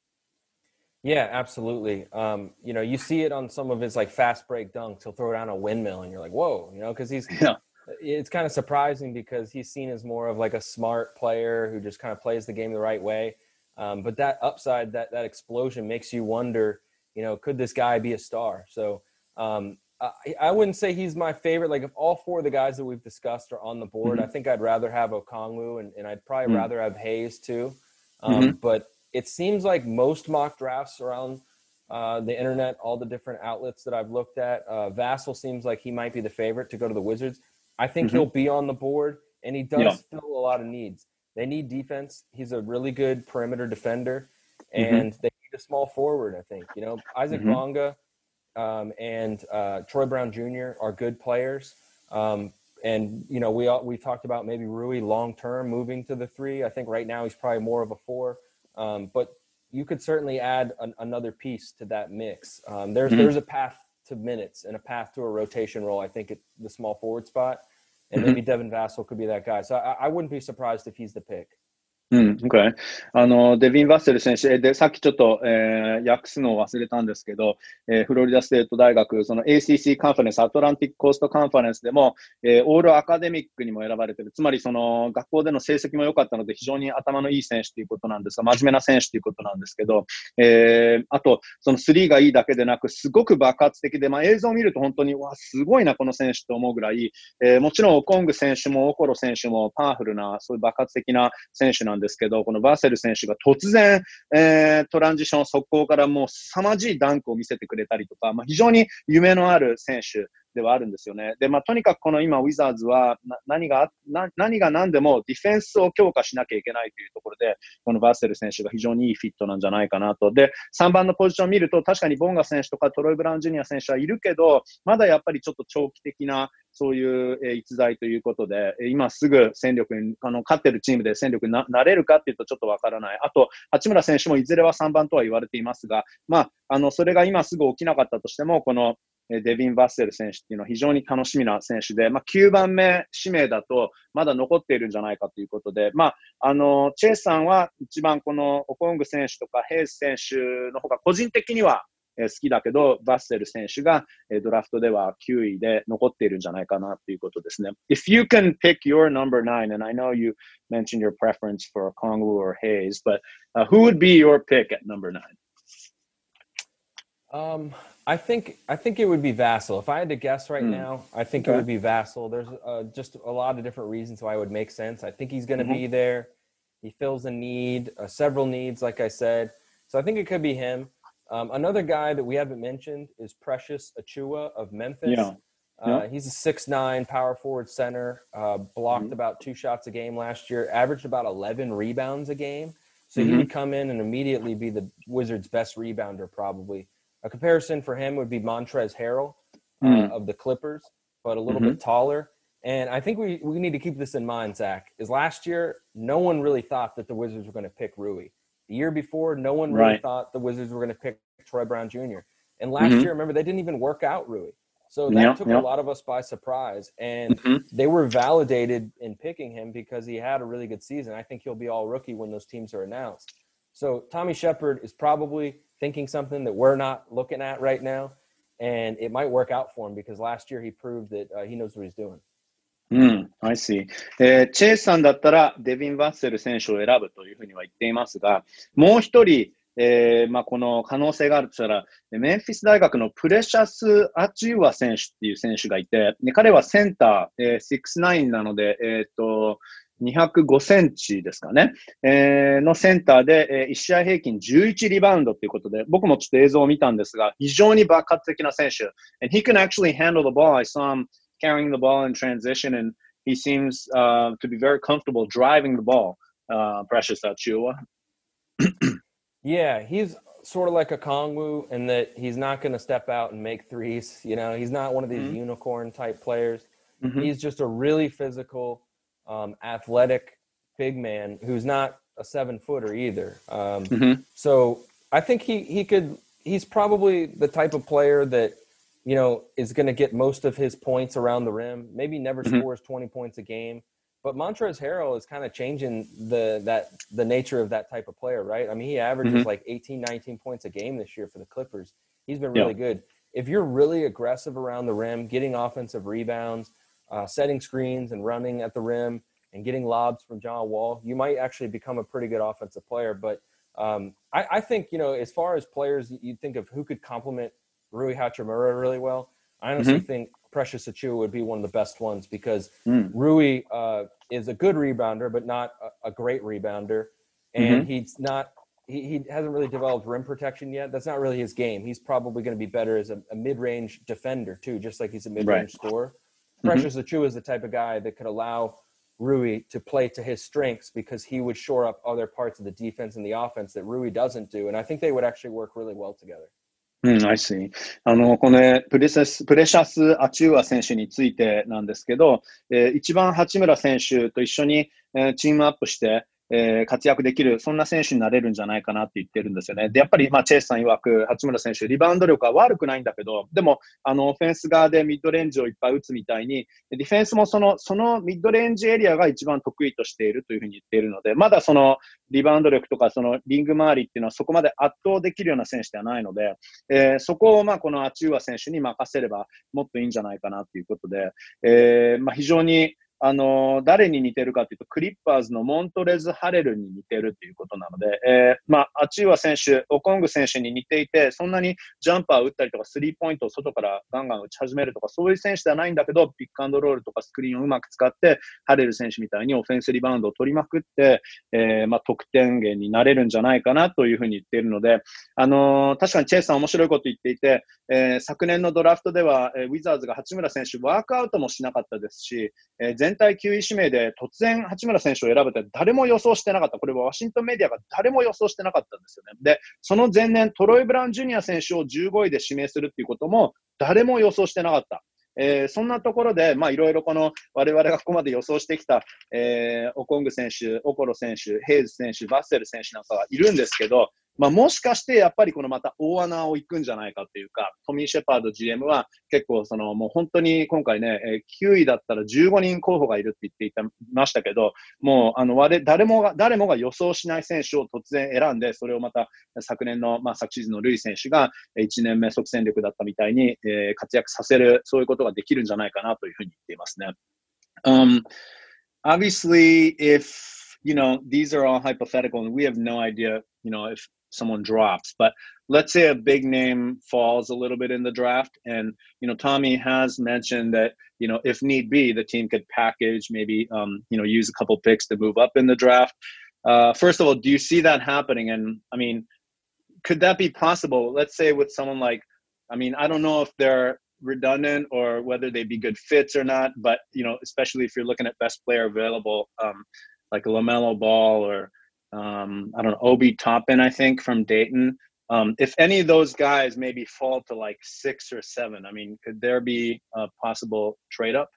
C: Yeah, absolutely. Um, you know, you see it on some of his like fast break dunks. He'll throw down a windmill, and you're like, whoa, you know, because he's.
B: Yeah.
C: It's kind of surprising because he's seen as more of like a smart player who just kind of plays the game the right way. Um, but that upside, that that explosion, makes you wonder, you know, could this guy be a star? So um, I, I wouldn't say he's my favorite. Like if all four of the guys that we've discussed are on the board,
B: Mm-hmm.
C: I think I'd rather have Okongwu, and, and I'd probably
B: Mm-hmm.
C: rather have Hayes too. Um,
B: Mm-hmm.
C: but it seems like most mock drafts around uh, the internet, all the different outlets that I've looked at, uh, Vassell seems like he might be the favorite to go to the Wizards. I think
B: Mm-hmm.
C: he'll be on the board, and he does
B: Yeah.
C: fill a lot of needs. They need defense. He's a really good perimeter defender,
B: Mm-hmm.
C: and they need a small forward, I think. You know, Isaac
B: Mm-hmm.
C: Bonga um, and uh, Troy Brown Junior are good players. Um, and, you know, we all, we talked about maybe Rui long-term moving to the three. I think right now he's probably more of a four. Um, but you could certainly add an, another piece to that mix. Um, there's,
B: Mm-hmm.
C: there's a path to minutes and a path to a rotation role, I think, at the small forward spot. And
B: Mm-hmm.
C: maybe Devin Vassell could be that guy. So I, I wouldn't be surprised if he's the pick.
B: うん、OK。あの、デビン・バッセル選手で、さっきちょっと、えー、訳すのを忘れたんですけど、えー、フロリダステート大学、その エーシーシー カンファレンス、アトランティックコーストカンファレンスでも、えー、オールアカデミックにも選ばれている。つまり、その、学校での成績も良かったので、非常に頭のいい選手ということなんですが、真面目な選手ということなんですけど、えー、あと、そのスリーがいいだけでなく、すごく爆発的で、まあ、映像を見ると本当に、わ、すごいな、この選手と思うぐらい、えー、もちろん、オコング選手も、オコロ選手もパワフルな、そういう爆発的な選手なんですけど、このバーセル選手が突然、えー、トランジション速攻からもう凄まじいダンクを見せてくれたりとか、まあ、非常に夢のある選手ではあるんですよね。で、まあ、とにかくこの今、ウィザーズはな何が、な何が何でもディフェンスを強化しなきゃいけないというところで、このバーセル選手が非常にいいフィットなんじゃないかなと。で、さんばんのポジションを見ると、確かにボンガ選手とかトロイ・ブラウン・ジュニア選手はいるけど、まだやっぱりちょっと長期的なそういう、えー、逸材ということで、今すぐ戦力に、あの、勝ってるチームで戦力に な, なれるかっていうとちょっとわからない。あと、八村選手もいずれはさんばんとは言われていますが、まあ、あの、それが今すぐ起きなかったとしても、この、デビン・バッセル選手っていうのは非常に楽しみな選手で、まあ、きゅうばんめ指名だとまだ残っているんじゃないかということで、まあ、あの、チェイスさんは一番このオコング選手とかヘイス選手の方が個人的には好きだけど、バッセル選手がドラフトではきゅういで残っているんじゃないかなということですね。If you can pick your number nine, and I know you mentioned your preference for Okongwu or Hayes, but uh, who would be your pick at number nine?
C: Um, I think I think it would be Vassell. If I had to guess right mm. now, I think okay. it would be Vassell. There's uh, just a lot of different reasons why it would make sense. I think he's going to mm-hmm. be there. He fills a need, uh, several needs, like I said. So I think it could be him. Um, another guy that we haven't mentioned is Precious Achiuwa of Memphis.
B: Yeah.
C: Uh, yeah. He's a six nine power forward center, uh, blocked mm-hmm. about two shots a game last year, averaged about eleven rebounds a game. So mm-hmm. he would come in and immediately be the Wizards' best rebounder probably. A comparison for him would be Montrezl Harrell uh, mm. of the Clippers, but a little mm-hmm. bit taller. And I think we, we need to keep this in mind, Zach, is last year, no one really thought that the Wizards were going to pick Rui. The year before, no one really
B: right.
C: thought the Wizards were going to pick Troy Brown Junior And last
B: Mm-hmm.
C: year, remember, they didn't even work out Rui. So that
B: Yeah,
C: took
B: yeah.
C: a lot of us by surprise. And
B: Mm-hmm.
C: they were validated in picking him because he had a really good season. I think he'll be all rookie when those teams are announced. So Tommy Shepard is probably thinking something that we're not looking at right now. And it might work out for him because last year he proved that uh, he knows what he's doing.
B: うん、I see。えーチェイスさんだったらデビン・バッセル選手を選ぶというふうには言っていますが、もう一人、えーまあ、この可能性があるとしたら、メンフィス大学のプレシャス・アチューア選手っていう選手がいて、で彼はセンター、えー、ろくじゅうきゅうなので、えーっと、にひゃくごセンチですかね、えーのセンターで、えー、いち試合平均じゅういちリバウンドということで、僕もちょっと映像を見たんですが、非常に爆発的な選手。And he can actually handle the ball. I saw him carrying the ball in transition, and he seems uh, to be very comfortable driving the ball. Uh, Precious Achua.
C: Yeah, he's sort of like a Kongwu in that he's not going to step out and make threes. You know, he's not one of these mm-hmm. unicorn type players. Mm-hmm. He's just a really physical, um, athletic big man who's not a seven footer either. Um, mm-hmm. So I think he, he could, he's probably the type of player that, you know, is going to get most of his points around the rim. Maybe never mm-hmm. scores twenty points a game, but Montrezl Harrell is kind of changing the that the nature of that type of player, right? I mean, he averages mm-hmm. like eighteen, nineteen points a game this year for the Clippers. He's been really yeah. good. If you're really aggressive around the rim, getting offensive rebounds, uh, setting screens and running at the rim and getting lobs from John Wall, you might actually become a pretty good offensive player. But um, I, I think, you know, as far as players, you think of who could complement Rui Hachimura really well. I honestly mm-hmm. think Precious Achiuwa would be one of the best ones because mm. Rui uh, is a good rebounder, but not a, a great rebounder. And mm-hmm. he's not, he, he hasn't really developed rim protection yet. That's not really his game. He's probably going to be better as a, a mid-range defender too, just like he's a mid-range right. scorer. Mm-hmm. Precious Achiuwa is the type of guy that could allow Rui to play to his strengths because he would shore up other parts of the defense and the offense that Rui doesn't do. And I think they would actually work really well together.
B: うん、I see. あの、このプレシャス、プレシャス・アチューア選手についてなんですけど、えー、一番八村選手と一緒に、えー、チームアップして、えー、活躍できる、そんな選手になれるんじゃないかなって言ってるんですよね。で、やっぱり、まあ、チェイスさん曰く、八村選手、リバウンド力は悪くないんだけど、でも、あの、オフェンス側でミッドレンジをいっぱい打つみたいに、ディフェンスもその、そのミッドレンジエリアが一番得意としているというふうに言っているので、まだその、リバウンド力とか、その、リング周りっていうのはそこまで圧倒できるような選手ではないので、えー、そこを、まあ、このアチューア選手に任せれば、もっといいんじゃないかなということで、えー、まあ、非常に、あの、誰に似てるかというと、クリッパーズのモントレズ・ハレルに似てるということなので、えー、まあ、アチューア選手、オコング選手に似ていて、そんなにジャンパーを打ったりとか、スリーポイントを外からガンガン打ち始めるとか、そういう選手ではないんだけど、ピックアンドロールとかスクリーンをうまく使って、ハレル選手みたいにオフェンスリバウンドを取りまくって、えー、まあ、得点源になれるんじゃないかなというふうに言っているので、あのー、確かにチェイスさん面白いこと言っていて、えー、昨年のドラフトでは、えー、ウィザーズが八村選手、ワークアウトもしなかったですし、えー、全体きゅうい指名で突然八村選手を選ぶって誰も予想してなかった。これはワシントンメディアが誰も予想してなかったんですよね。で、その前年トロイ・ブラウン・ジュニア選手をじゅうごいで指名するっていうことも誰も予想してなかった。えー、そんなところで、まあいろいろこの我々がここまで予想してきた、えー、オコング選手、オコロ選手、ヘイズ選手、バッセル選手なんかがいるんですけど、まあもしかしてやっぱりこのまた大穴を行くんじゃないかというか、トミー・シェパード ジーエム は結構そのもう本当に今回ね、きゅういだったらじゅうごにん候補がいるって言っていたましたけど、もうあの我誰もが、誰もが予想しない選手を突然選んで、それをまた昨年の、まあ昨シーズンのルイ選手がいちねんめ即戦力だったみたいに、えー、活躍させる、そういうことができるんじゃないかなというふうに言っていますね。Um, obviously, if, you know, these are all hypothetical and we have no idea, you know, if someone drops, but let's say a big name falls a little bit in the draft and, you know, Tommy has mentioned that, you know, if need be, the team could package, maybe, um, you know, use a couple picks to move up in the draft. Uh, first of all, do you see that happening? And I mean, could that be possible? Let's say with someone like, I mean, I don't know if they're redundant or whether they'd be good fits or not, but, you know, especially if you're looking at best player available, um, like LaMelo Ball or, Um, I don't know, Obi Toppin, I think, from Dayton. Um, if any of those guys maybe fall to like six or seven, I mean, could there be a possible trade up?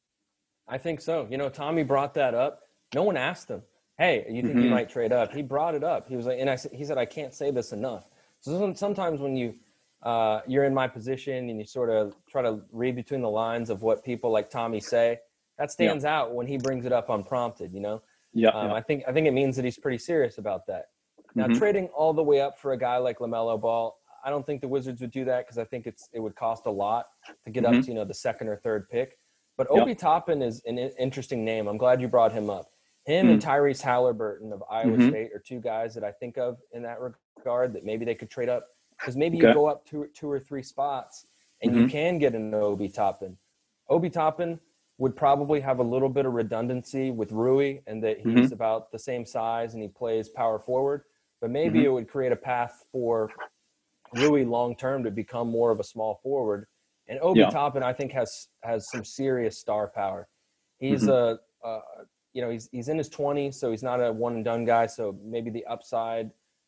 C: I think so. You know, Tommy brought that up. No one asked him, hey, you think mm-hmm. you might trade up? He brought it up. He was like, and I, he said, I can't say this enough. So sometimes when you uh, you're in my position and you sort of try to read between the lines of what people like Tommy say, that stands yeah. out when he brings it up unprompted, you know?
B: Yeah,
C: um,
B: yeah.
C: I think I think it means that he's pretty serious about that. Now, mm-hmm. trading all the way up for a guy like LaMelo Ball, I don't think the Wizards would do that because I think it's it would cost a lot to get mm-hmm. up to, you know, the second or third pick. But Obi yep. Toppin is an interesting name. I'm glad you brought him up. Him mm. and Tyrese Halliburton of Iowa mm-hmm. State are two guys that I think of in that regard that maybe they could trade up because maybe okay. you go up two, two or three spots and mm-hmm. you can get an Obi Toppin. Obi Toppin would probably have a little bit of redundancy with Rui and that he's mm-hmm. about the same size and he plays power forward. But maybe mm-hmm. it would create a path for Rui long-term to become more of a small forward. And Obi yeah. Toppin, I think, has has some serious star power. He's mm-hmm. a, a, you know, he's he's in his twenties, so he's not a one-and-done guy. So maybe the upside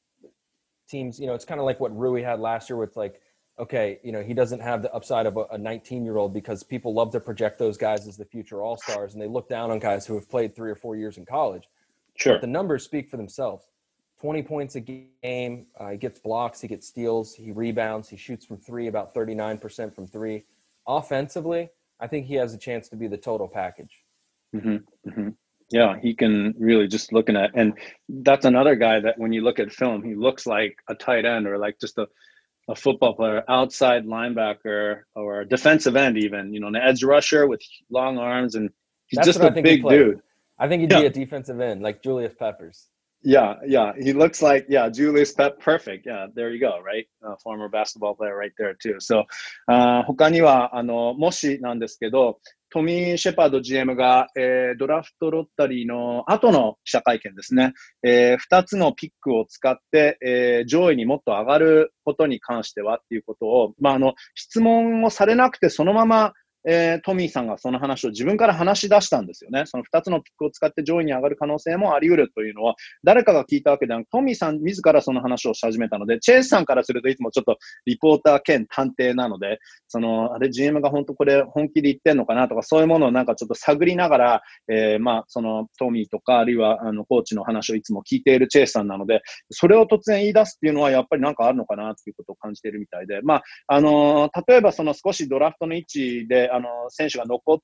C: teams, you know, it's kind of like what Rui had last year with like, okay, you know, he doesn't have the upside of a nineteen-year-old because people love to project those guys as the future all-stars, and they look down on guys who have played three or four years in college.
B: Sure.
C: But the numbers speak for themselves. twenty points a game. Uh, he gets blocks. He gets steals. He rebounds. He shoots from three, about thirty-nine percent from three. Offensively, I think he has a chance to be the total package.
B: Mm-hmm. Mm-hmm. Yeah, he can really just looking at, and that's another guy that when you look at film, he looks like a tight end or like just a, a football player, outside linebacker or a defensive end even, you know, an edge rusher with long arms, and he's
C: that's
B: just a big dude.
C: I think he'd yeah. be a defensive end like Julius Peppers.
B: Yeah, yeah. He looks like, yeah, Julius Pep, perfect. Yeah, there you go, right? Uh, former basketball player right there too. So, uh, 他には、あの、もしなんですけど、トミー・シェパード ジーエム が、えー、ドラフトロッタリーの後の記者会見ですね、えー、ふたつのピックを使って、えー、上位にもっと上がることに関してはっていうことを、まあ、あの、質問をされなくてそのまま、えー、トミーさんがその話を自分から話し出したんですよね。そのふたつのピックを使って上位に上がる可能性もあり得るというのは、誰かが聞いたわけではなく、トミーさん自らその話をし始めたので、チェイスさんからするといつもちょっとリポーター兼探偵なので、その、あれ ジーエム が本当これ本気で言ってんのかなとか、そういうものをなんかちょっと探りながら、えー、まあ、そのトミーとか、あるいはあのコーチの話をいつも聞いているチェイスさんなので、それを突然言い出すっていうのはやっぱりなんかあるのかなっていうことを感じているみたいで、まあ、あのー、例えばその少しドラフトの位置で、あのー、選手が残って、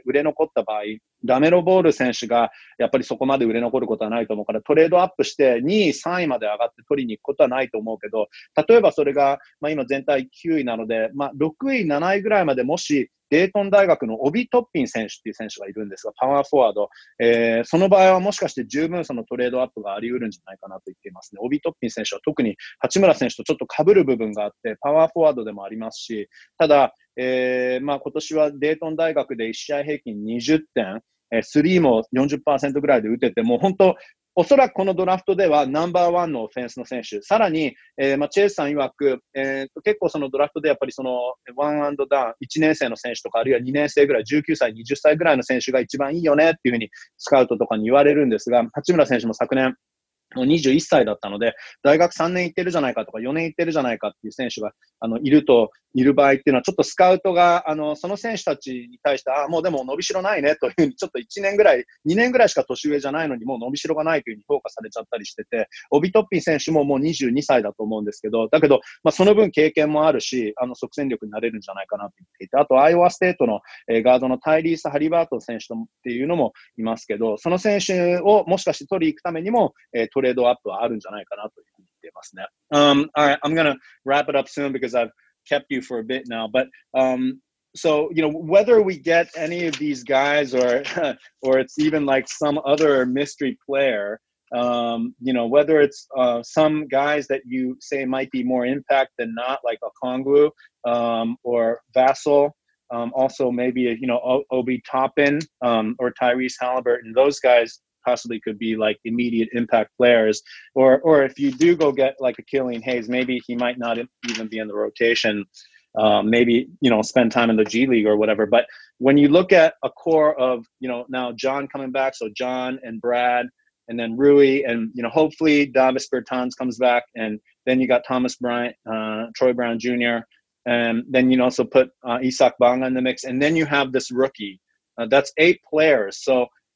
B: 売れ残った場合、ラメロボール選手がやっぱりそこまで売れ残ることはないと思うから、トレードアップしてにい、さんいまで上がって取りに行くことはないと思うけど、例えばそれが、まあ今全体きゅういなので、まあろくい、なないぐらいまでもし、デートン大学のオビ・トッピン選手っていう選手がいるんですが、パワーフォワード。えー、その場合はもしかして十分そのトレードアップがあり得るんじゃないかなと言っていますね。オビ・トッピン選手は特に八村選手とちょっと被る部分があって、パワーフォワードでもありますし、ただ、えー、まあ今年はデートン大学でいち試合平均にじゅってん、えー、スリーも よんじゅっパーセント ぐらいで打てて、もう本当、おそらくこのドラフトではナンバーワンのオフェンスの選手。さらに、えー、まあ、チェイスさん曰く、えー、結構そのドラフトでやっぱりそのワンアンドダウン、いちねん生の選手とか、あるいはにねん生ぐらい、じゅうきゅうさい、はたちぐらいの選手が一番いいよねっていうふうにスカウトとかに言われるんですが、八村選手も昨年、もうにじゅういっさいだったので、大学さんねん行ってるじゃないかとか、よねん行ってるじゃないかっていう選手が、あの、いると、いる場合っていうのは、ちょっとスカウトが、あの、その選手たちに対して、あ、もうでも伸びしろないねというふうに、ちょっといちねんぐらい、にねんぐらいしか年上じゃないのに、もう伸びしろがないというふうに評価されちゃったりしてて、オビトッピン選手ももうにじゅうにさいだと思うんですけど、だけど、まあ、その分経験もあるし、あの、即戦力になれるんじゃないかなと言っていて、あと、アイオワステートの、えー、ガードのタイリース・ハリバートン選手っていうのもいますけど、その選手をもしかして取りに行くためにも、えー、トレードアップはあるんじゃないかなというふうに言っていますね。Um, all right, I'm gonna wrap it up soon because I've kept you for a bit now, but um, so you know whether we get any of these guys or or it's even like some other mystery player, um, you know whether it's uh, some guys that you say might be more impact than not, like Okongwu um, or Vassell. Um, also, maybe you know o- Obi Toppin um, or Tyrese Halliburton. Those guys possibly could be like immediate impact players, or or if you do go get like a Killian Hayes, maybe he might not even be in the rotation. Um, maybe you know spend time in the G League or whatever. But when you look at a core of you know now John coming back, so John and Brad, and then Rui, and you know hopefully Davis Bertans comes back, and then you got Thomas Bryant, uh, Troy Brown Junior, and then you also put uh, Isak Banga in the mix, and then you have this rookie. Uh, that's eight players. So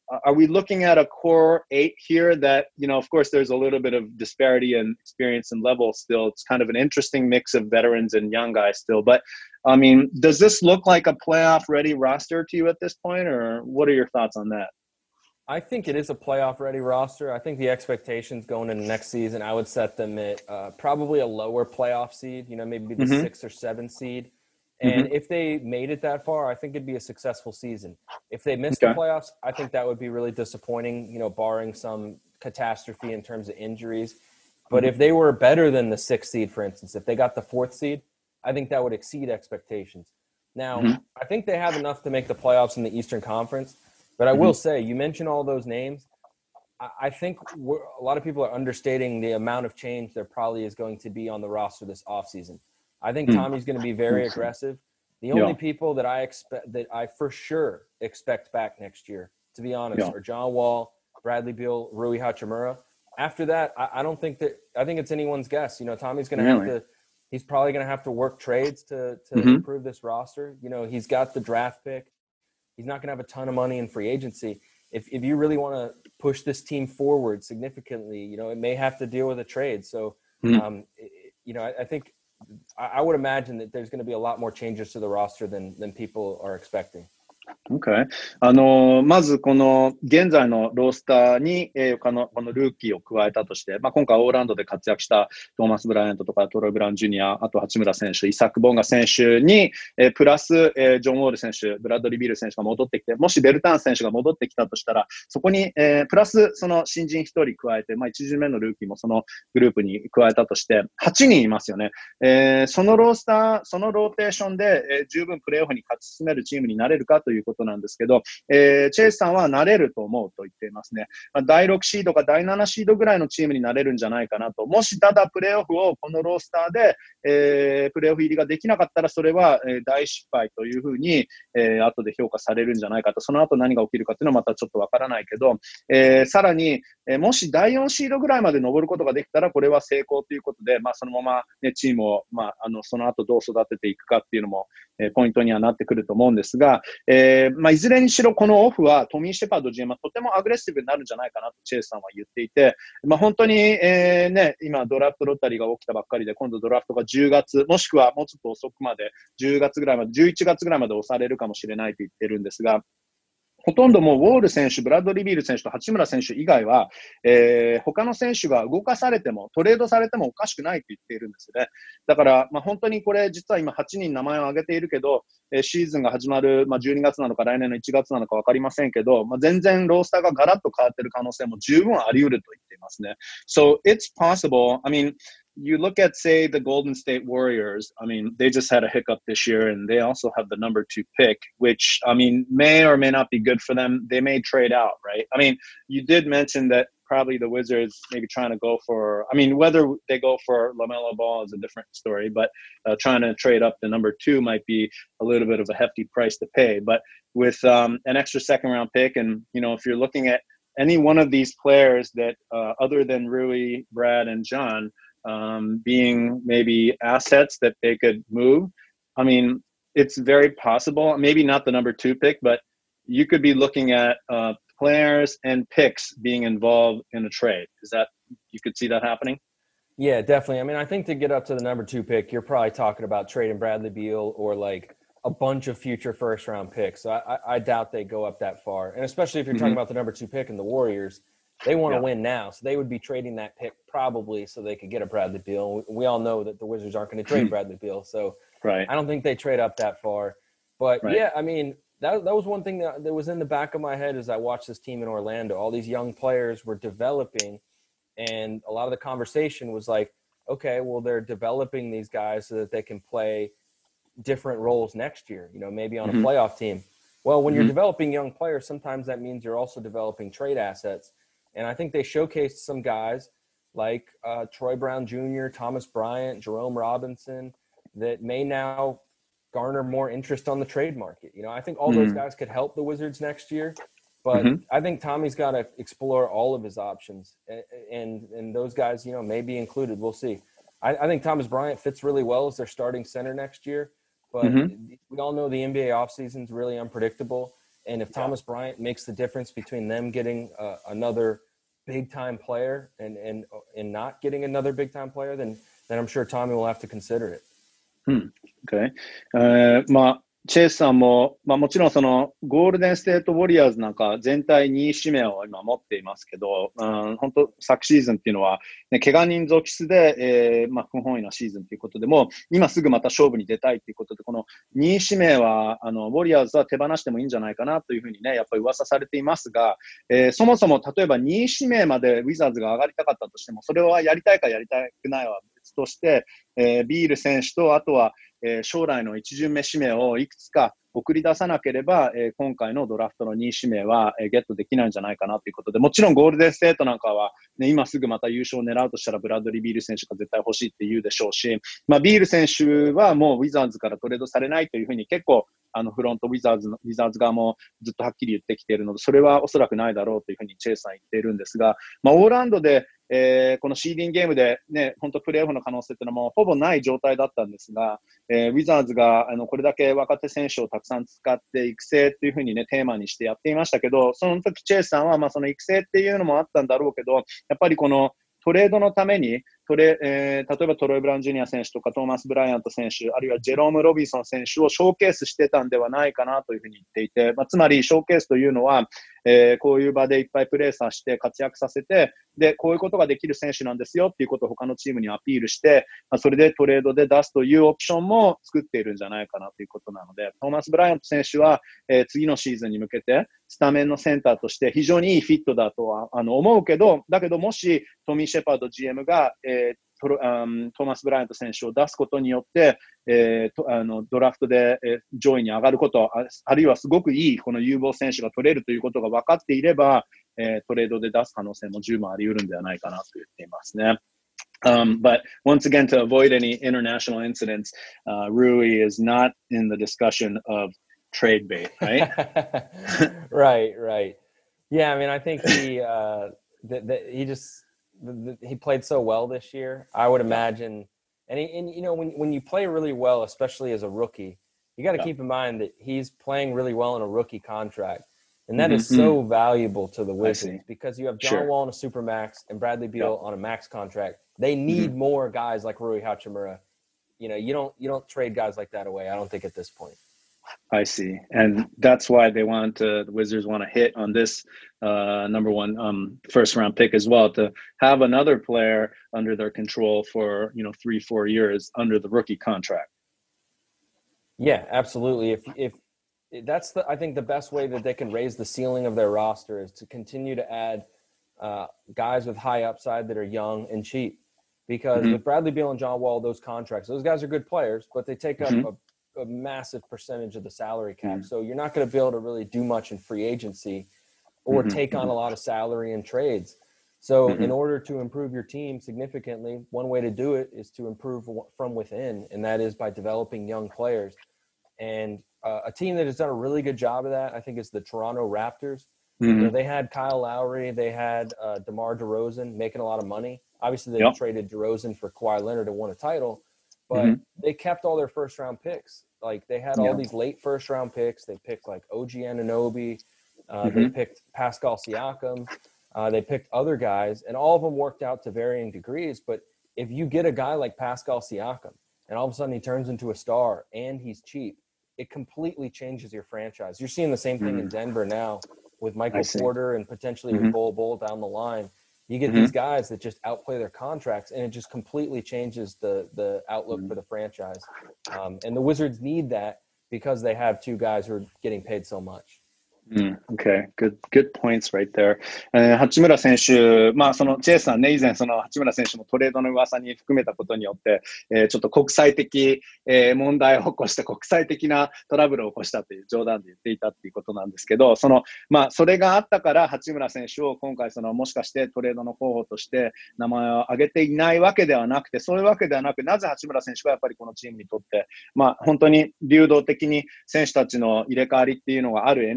B: are we looking at a core eight here that, you know, of course, there's a little bit of disparity in experience and level still. It's kind of an interesting mix of veterans and young guys still. But, I mean, does this look like a playoff-ready roster to you at this point, or what are your thoughts on that?
C: I think it is a playoff-ready roster. I think the expectations going into next season, I would set them at uh, probably a lower playoff seed, you know, maybe the mm-hmm. six or seven seed. And mm-hmm. if they made it that far, I think it'd be a successful season. If they missed okay. the playoffs, I think that would be really disappointing, you know, barring some catastrophe in terms of injuries. But mm-hmm. if they were better than the sixth seed, for instance, if they got the fourth seed, I think that would exceed expectations. Now, mm-hmm. I think they have enough to make the playoffs in the Eastern Conference. But I mm-hmm. will say, you mentioned all those names. I, I think we're, a lot of people are understating the amount of change there probably is going to be on the roster this offseason. I think mm-hmm. Tommy's going to be very aggressive. The only yeah. people that I expect that I for sure expect back next year, to be honest, yeah. are John Wall, Bradley Beal, Rui Hachimura. After that, I, I don't think that I think it's anyone's guess. You know, Tommy's going to really? have to. He's probably going to have to work trades to to mm-hmm. improve this roster. You know, he's got the draft pick. He's not going to have a ton of money in free agency. If if you really want to push this team forward significantly, you know, it may have to deal with a trade. So, mm-hmm. um, it, you know, I, I think I, I would imagine that there's going to be a lot more changes to the roster than than people are expecting.
B: Okay. あの、まずこの現在のロースターに、えー、この、このルーキーを加えたとして、まあ、今回オーランドで活躍したトーマス・ブライアントとかトロイ・ブラウン・ジュニア、あと八村選手、イサック・ボンガ選手に、えー、プラス、えー、ジョン・ウォール選手、ブラッドリー・ビール選手が戻ってきて、もしベルターン選手が戻ってきたとしたら、そこに、えー、プラスその新人一人加えて、まあ、一巡目のルーキーもそのグループに加えたとして、はちにんいますよね。えー、そのロースター、そのローテーションで、えー、十分プレーオフに勝ち進めるチームになれるかということなんですけど、えー、チェイスさんはなれると思うと言っていますね。まあ、だいろくシードかだいななシードぐらいのチームになれるんじゃないかなと。もしただプレーオフをこのロースターで、えー、プレーオフ入りができなかったらそれは、えー、大失敗というふうに、えー、後で評価されるんじゃないかと。その後何が起きるかっていうのはまたちょっとわからないけど、えー、さらに、えー、もしだいよんシードぐらいまで上ることができたらこれは成功ということで、まあ、そのまま、ね、チームを、まあ、あのその後どう育てていくかっていうのも、えー、ポイントにはなってくると思うんですが、えーまあ、いずれにしろこのオフはトミー・シェパード ジーエム はとてもアグレッシブになるんじゃないかなとチェイスさんは言っていて、まあ、本当に、えーね、今ドラフトロッタリーが起きたばっかりで、今度ドラフトがじゅうがつ、もしくはもうちょっと遅くまで、じゅうがつぐらいまで、じゅういちがつぐらいまで押されるかもしれないと言ってるんですが、ほとんどもうウォール選手、ブラッドリー・ビール選手と八村選手以外は、えー、他の選手が動かされても、トレードされてもおかしくないと言っているんですね。だから、まあ、本当にこれ、実は今はちにん名前を挙げているけど、えー、シーズンが始まる、まあ、じゅうにがつなのか来年のいちがつなのかわかりませんけど、まあ、全然ロースターがガラッと変わっている可能性も十分あり得ると言っていますね。So it's possible. I mean, you look at, say, the Golden State Warriors. I mean, they just had a hiccup this year, and they also have the number two pick, which, I mean, may or may not be good for them. They may trade out, right? I mean, you did mention that probably the Wizards maybe trying to go for, I mean, whether they go for LaMelo Ball is a different story, but uh, trying to trade up to number two might be a little bit of a hefty price to pay. But with um, an extra second round pick, and, you know, if you're looking at any one of these players that, uh, other than Rui, Brad, and John, Um, being maybe assets that they could move. I mean, it's very possible, maybe not the number two pick, but you could be looking at uh, players and picks being involved in a trade. Is that, you could see that happening?
C: Yeah, definitely. I mean, I think to get up to the number two pick, you're probably talking about trading Bradley Beal or like a bunch of future first round picks. So I, I, I doubt they go up that far. And especially if you're mm-hmm. talking about the number two pick in the Warriors, they want to yeah. win now, so they would be trading that pick probably so they could get a Bradley Beal. We, we all know that the Wizards aren't going to trade Bradley Beal, so
B: right.
C: I don't think they trade up that far. But,
B: right.
C: yeah, I mean, that that was one thing that, that was in the back of my head as I watched this team in Orlando. All these young players were developing, and a lot of the conversation was like, okay, well, they're developing these guys so that they can play different roles next year, you know, maybe on mm-hmm. a playoff team. Well, when mm-hmm. you're developing young players, sometimes that means you're also developing trade assets. And I think they showcased some guys like uh, Troy Brown Junior, Thomas Bryant, Jerome Robinson that may now garner more interest on the trade market. You know, I think all mm-hmm. those guys could help the Wizards next year, but mm-hmm. I think Tommy's got to explore all of his options, and, and and those guys, you know, may be included. We'll see. I, I think Thomas Bryant fits really well as their starting center next year, but mm-hmm. we all know the N B A offseason is really unpredictable. And if Thomas yeah. Bryant makes the difference between them getting uh, another big time player and, and, and not getting another big time player, then, then I'm sure Tommy will have to consider it.
B: Hmm. Okay. えー、まあ、チェイスさんも、まあもちろんそのゴールデンステートウォリアーズなんか全体にい指名を今持っていますけど、うん、本当昨シーズンっていうのは、ね、怪我人続出で、えー、まあ不本意なシーズンということでも、今すぐまた勝負に出たいということで、このにい指名は、あの、ウォリアーズは手放してもいいんじゃないかなというふうにね、やっぱり噂されていますが、えー、そもそも例えばにい指名までウィザーズが上がりたかったとしても、それはやりたいかやりたくないは別として、えー、ビール選手と、あとは、えー、将来の一巡目指名をいくつか送り出さなければ、えー、今回のドラフトのにい指名は、えー、ゲットできないんじゃないかなということで、もちろんゴールデンステートなんかは、ね、今すぐまた優勝を狙うとしたらブラッドリー・ビール選手が絶対欲しいって言うでしょうし、まあ、ビール選手はもうウィザーズからトレードされないというふうに結構あのフロントウィザーズのウィザーズ側もずっとはっきり言ってきているので、それはおそらくないだろうというふうにチェイスさん言っているんですが、まあ、オーランドでえー、このシーディングゲームでね、本当プレーオフの可能性っていうのはもうほぼない状態だったんですが、えー、ウィザーズがあのこれだけ若手選手をたくさん使って育成っていうふうにね、テーマにしてやっていましたけど、その時チェイスさんはまあその育成っていうのもあったんだろうけど、やっぱりこのトレードのためにトレ、えー、例えばトロイ・ブラウン・ジュニア選手とかトーマス・ブライアント選手、あるいはジェローム・ロビンソン選手をショーケースしてたんではないかなというふうに言っていて、まあ、つまりショーケースというのは、えー、こういう場でいっぱいプレーさせて活躍させて、で、こういうことができる選手なんですよっていうことを他のチームにアピールして、まあ、それでトレードで出すというオプションも作っているんじゃないかなということなので、トーマス・ブライアント選手は、えー、次のシーズンに向けてスタメンのセンターとして非常にいいフィットだとはあの思うけど、だけどもしトミー・シェパード ジーエム が、えート, あトーマス・ブライアント選手を出すことによって、えー、とあのドラフトで、えー、上位に上がること、あ, あるいはすごくいいこの有望選手が取れるということが分かっていれば、えー、トレードで出す可能性も十分あり得るんではないかなと言っていますね。Um, but once again, to avoid any international incidents, uh, Rui is not in the discussion of trade bait, right?
C: right, right. Yeah, I mean, I think he, uh, that, that he just, the, the, he played so well this year. I would imagine, and, he, and you know, when, when you play really well, especially as a rookie, you got to yeah. keep in mind that he's playing really well in a rookie contract. And that mm-hmm. is so valuable to the Wizards because you have John sure. Wall on a supermax and Bradley Beal yeah. on a max contract. They need mm-hmm. more guys like Rui Hachimura. You know, you don't you don't trade guys like that away, I don't think, at this point.
B: I see. And that's why they want to, the Wizards want to hit on this uh, number one um, first round pick as well, to have another player under their control for, you know, three, four years under the rookie contract.
C: Yeah, absolutely. If if that's the, I think the best way that they can raise the ceiling of their roster is to continue to add uh, guys with high upside that are young and cheap. Because mm-hmm. with Bradley Beal and John Wall, those contracts, those guys are good players, but they take mm-hmm. up a, a massive percentage of the salary cap. Mm-hmm. So you're not going to be able to really do much in free agency or mm-hmm. take on a lot of salary in trades. So mm-hmm. in order to improve your team significantly, one way to do it is to improve from within, and that is by developing young players. And uh, a team that has done a really good job of that, I think, is the Toronto Raptors. Mm-hmm. You know, they had Kyle Lowry, they had uh, DeMar DeRozan making a lot of money. Obviously, they yep. traded DeRozan for Kawhi Leonard and won a title, but mm-hmm. they kept all their first-round picks. Like, they had all yeah. these late first-round picks. They picked, like, O G Anunoby. Uh, mm-hmm. They picked Pascal Siakam. Uh, they picked other guys, and all of them worked out to varying degrees. But if you get a guy like Pascal Siakam, and all of a sudden he turns into a star, and he's cheap, it completely changes your franchise. You're seeing the same thing mm-hmm. in Denver now with Michael Porter and potentially mm-hmm. with Bol Bol down the line. You get mm-hmm. these guys that just outplay their contracts, and it just completely changes the the outlook mm-hmm. for the franchise. Um, and the Wizards need that because they have two guys who are getting paid so much.
B: Mm, okay, good, good points right there. えー、八村選手、まあそのチェイスさんね、以前その八村選手もトレードの噂に含めたことによって、えー、ちょっと国際的、えー、問題を起こして国際的なトラブルを起こしたという冗談で言っていたっていうことなんですけど、そのまあそれがあったから八村選手を今回そのもしかしてトレードの候補として名前を挙げていないわけではなくて、そういうわけではなく、なぜ八村選手がやっぱりこのチームにとって、まあ本当に流動的に選手たちの入れ替わりっていうのがある エヌビー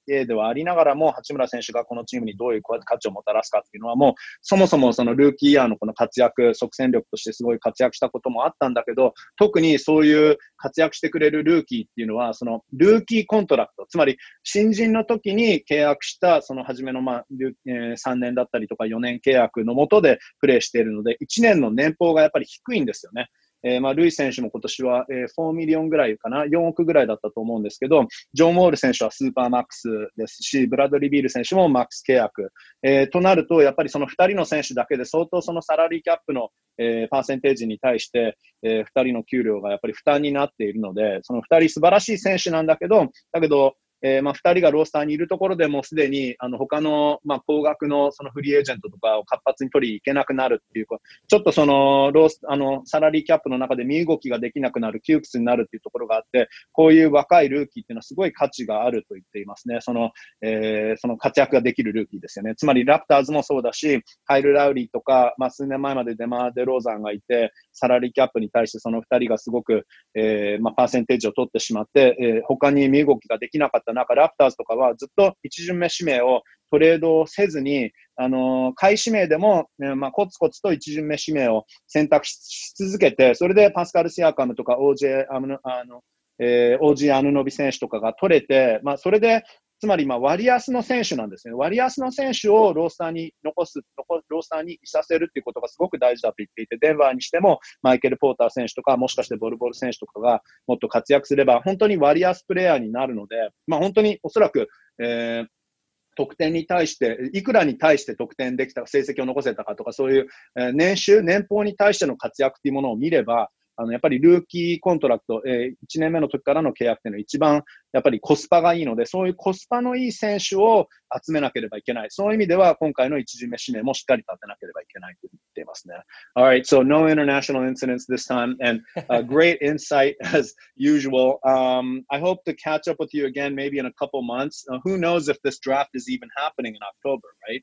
B: エー ではありながらも、八村選手がこのチームにどういう価値をもたらすかっていうのは、もうそもそもそのルーキーイヤーのこの活躍、即戦力としてすごい活躍したこともあったんだけど、特にそういう活躍してくれるルーキーっていうのは、そのルーキーコントラクト、つまり新人の時に契約したその初めの、まあえー、さんねんだったりとかよねん契約の下でプレーしているので、いちねんの年俸がやっぱり低いんですよね。えー、まあ、ルイ選手も今年は、えー、よんミリオンぐらいかな、よんおくぐらいだったと思うんですけど、ジョン・ウォール選手はスーパーマックスですし、ブラッドリー・ビール選手もマックス契約。えー、となると、やっぱりそのふたりの選手だけで相当そのサラリーキャップの、えー、パーセンテージに対して、えー、ふたりの給料がやっぱり負担になっているので、そのふたり素晴らしい選手なんだけど、だけど、えー、まあ、二人がロースターにいるところでもすでに、あの、他の、まあ、高額のそのフリーエージェントとかを活発に取りに行けなくなるっていうか、ちょっとその、ロース、あの、サラリーキャップの中で身動きができなくなる、窮屈になるっていうところがあって、こういう若いルーキーっていうのはすごい価値があると言っていますね。その、えー、その活躍ができるルーキーですよね。つまり、ラプターズもそうだし、カイル・ラウリーとか、まあ、数年前までデマー・デローザンがいて、サラリーキャップに対してその二人がすごく、えー、まあ、パーセンテージを取ってしまって、えー、他に身動きができなかった中、ラプターズとかはずっと一巡目指名をトレードせずに、あのー、下位指名でも、ね、まあ、コツコツと一巡目指名を選択し続けて、それでパスカル・シアカムとか オージェー、あの、あの、えー、オージー・アヌノビ選手とかが取れて、まあ、それで、つまり、まあ、割安の選手なんですね。割安の選手をロースターに残す、残ロースターにいさせるっていうことがすごく大事だと言っていて、デンバーにしても、マイケル・ポーター選手とか、もしかしてボルボル選手とかがもっと活躍すれば、本当に割安プレイヤーになるので、まあ、本当におそらく、えー、得点に対して、いくらに対して得点できたか、成績を残せたかとか、そういう、えー、年収、年俸に対しての活躍っていうものを見れば、あの、やっぱりルーキーコントラクト、えー、いちねんめの時からの契約っていうのは一番、やっぱりコスパがいいので、そういうコスパのいい選手を集めなければいけない。そういう意味では、今回の一巡目指名もしっかり立てなければいけないと言っていますね。Alright, so no international incidents this time, and a great insight as usual. Um, I hope to catch up with you again maybe in a couple months. Uh, who knows if this draft is even happening in October, right?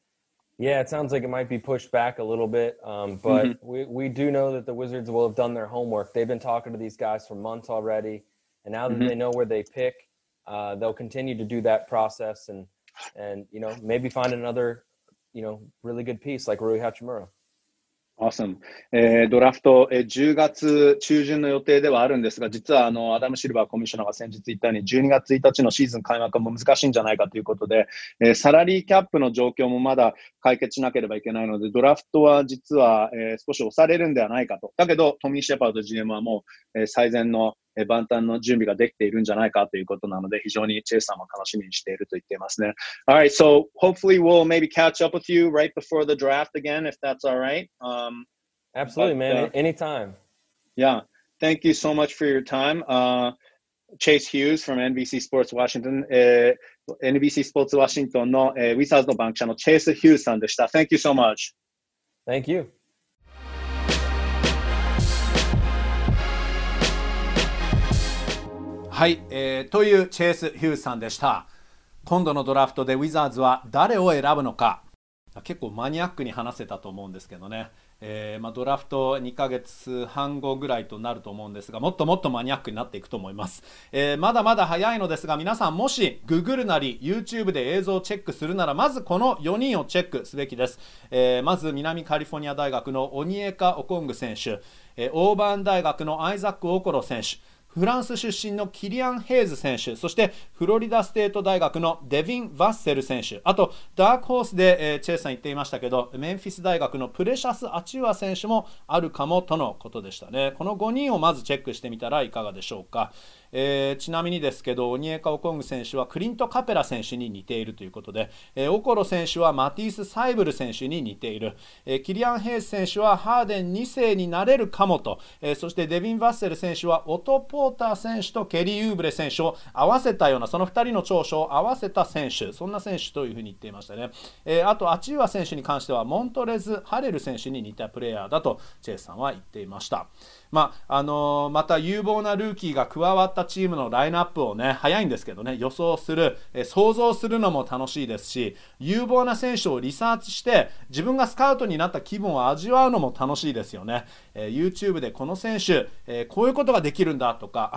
C: Yeah, it sounds like it might be pushed back a little bit, um, but mm-hmm. we, we do know that the Wizards will have done their homework. They've been talking to these guys for months already, and now that mm-hmm. they know where they pick, uh, they'll continue to do that process and, and you know, maybe find another, you know, really good piece like Rui Hachimura.
B: Awesome. えー、ドラフト、えー、じゅうがつ中旬の予定ではあるんですが、実はあのアダム・シルバーコミッショナーが先日言ったように、じゅうにがつついたちのシーズン開幕も難しいんじゃないかということで、えー、サラリーキャップの状況もまだ解決しなければいけないので、ドラフトは実は、えー、少し押されるんではないかと。だけど、トミー・シェパード ジーエム はもう、えー、最善の万端の準備ができているんじゃないかということなので、非常にチェイスさんも楽しみにしていると言っていますね。Alright, so hopefully we'll maybe catch up with you right before the draft again, if that's alright. Um,
C: Absolutely,
B: but,
C: man.
B: Uh,
C: Anytime.
B: Yeah. Thank you so much for your time. Uh, Chase Hughes from エヌビーシー Sports Washington、えー、エヌビーシー Sports Washington の、えー、ウィザーズの番記者のチェイス・ヒューズさんでした。Thank you so much.
C: Thank you.
A: はい、えー、というチェイス・ヒューズさんでした。今度のドラフトでウィザーズは誰を選ぶのか、結構マニアックに話せたと思うんですけどね、えーまあ、ドラフトにかげつはん後ぐらいとなると思うんですが、もっともっとマニアックになっていくと思います、えー、まだまだ早いのですが、皆さんもし Google なり YouTube で映像をチェックするなら、まずこのよにんをチェックすべきです、えー、まず南カリフォルニア大学のオニエカ・オコング選手、えー、オーバーン大学のアイザック・オコロ選手、フランス出身のキリアン・ヘイズ選手、そしてフロリダステート大学のデビン・バッセル選手、あとダークホースで、えー、チェイスさん言っていましたけど、メンフィス大学のプレシャス・アチュア選手もあるかもとのことでしたね。このごにんをまずチェックしてみたらいかがでしょうか。えー、ちなみにですけど、オニエカ・オコング選手はクリント・カペラ選手に似ているということで、えー、オコロ選手はマティース・サイブル選手に似ている、えー、キリアン・ヘイズ選手はハーデンに世になれるかもと、えー、そしてデビン・バッセル選手はオト・ポーター選手とケリー・ユーブレ選手を合わせたような、そのふたりの長所を合わせた選手、そんな選手というふうに言っていましたね。えー、あとアチューア選手に関してはモントレズ・ハレル選手に似たプレイヤーだとチェイスさんは言っていました。まああのー、また有望なルーキーが加わったチームのラインナップをね、早いんですけどね、予想する、えー、想像するのも楽しいですし、有望な選手をリサーチして自分がスカウトになった気分を味わうのも楽しいですよね。えー、YouTube でこの選手、えー、こういうことができるんだとか、あ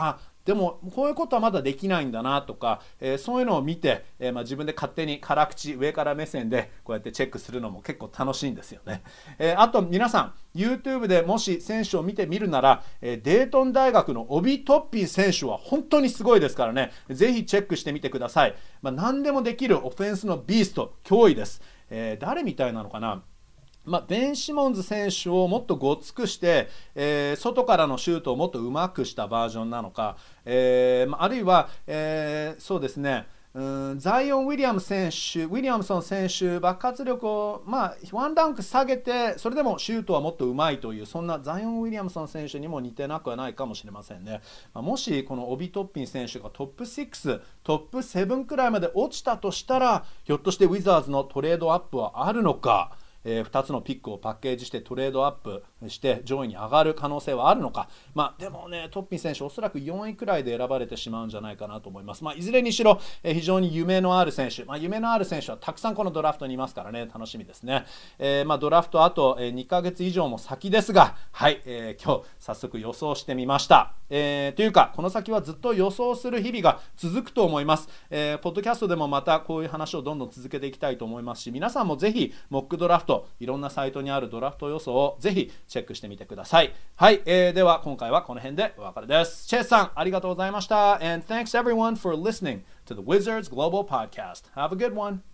A: でもこういうことはまだできないんだなとか、えー、そういうのを見て、えーまあ、自分で勝手に辛口上から目線でこうやってチェックするのも結構楽しいんですよね。えー、あと皆さん YouTube でもし選手を見てみるなら、えー、デートン大学のオビ・トッピン選手は本当にすごいですからね、ぜひチェックしてみてください。まあ、何でもできるオフェンスのビースト、脅威です。えー、誰みたいなのかな、まあ、ベン・シモンズ選手をもっとごつくして、えー、外からのシュートをもっとうまくしたバージョンなのか、えー、あるいは、えー、そうですね、うんザイオン・ウィリアム選手、ウィリアムソン選手、爆発力を、まあ、ワンランク下げて、それでもシュートはもっとうまいという、そんなザイオン・ウィリアムソン選手にも似てなくはないかもしれませんね。まあ、もしこのオビ・トッピン選手がトップシックス、トップセブンくらいまで落ちたとしたら、ひょっとしてウィザーズのトレードアップはあるのか。えー、ふたつのピックをパッケージしてトレードアップして上位に上がる可能性はあるのか、まあ、でもねトッピン選手おそらくよんいくらいで選ばれてしまうんじゃないかなと思います。まあ、いずれにしろ、えー、非常に夢のある選手、まあ、夢のある選手はたくさんこのドラフトにいますからね、楽しみですね。えーまあ、ドラフトあと、えー、にかげつ以上も先ですが、はい、えー、今日早速予想してみました。えー、というかこの先はずっと予想する日々が続くと思います。えー、ポッドキャストでもまたこういう話をどんどん続けていきたいと思いますし、皆さんもぜひモックドラフトいろんなサイトにあるドラフト予想をぜひチェックしてみてください。はい、えー、では今回はこの辺でお別れです。チェイスさんありがとうございました。 And thanks everyone for listening to the Wizards Global Podcast. Have a good one.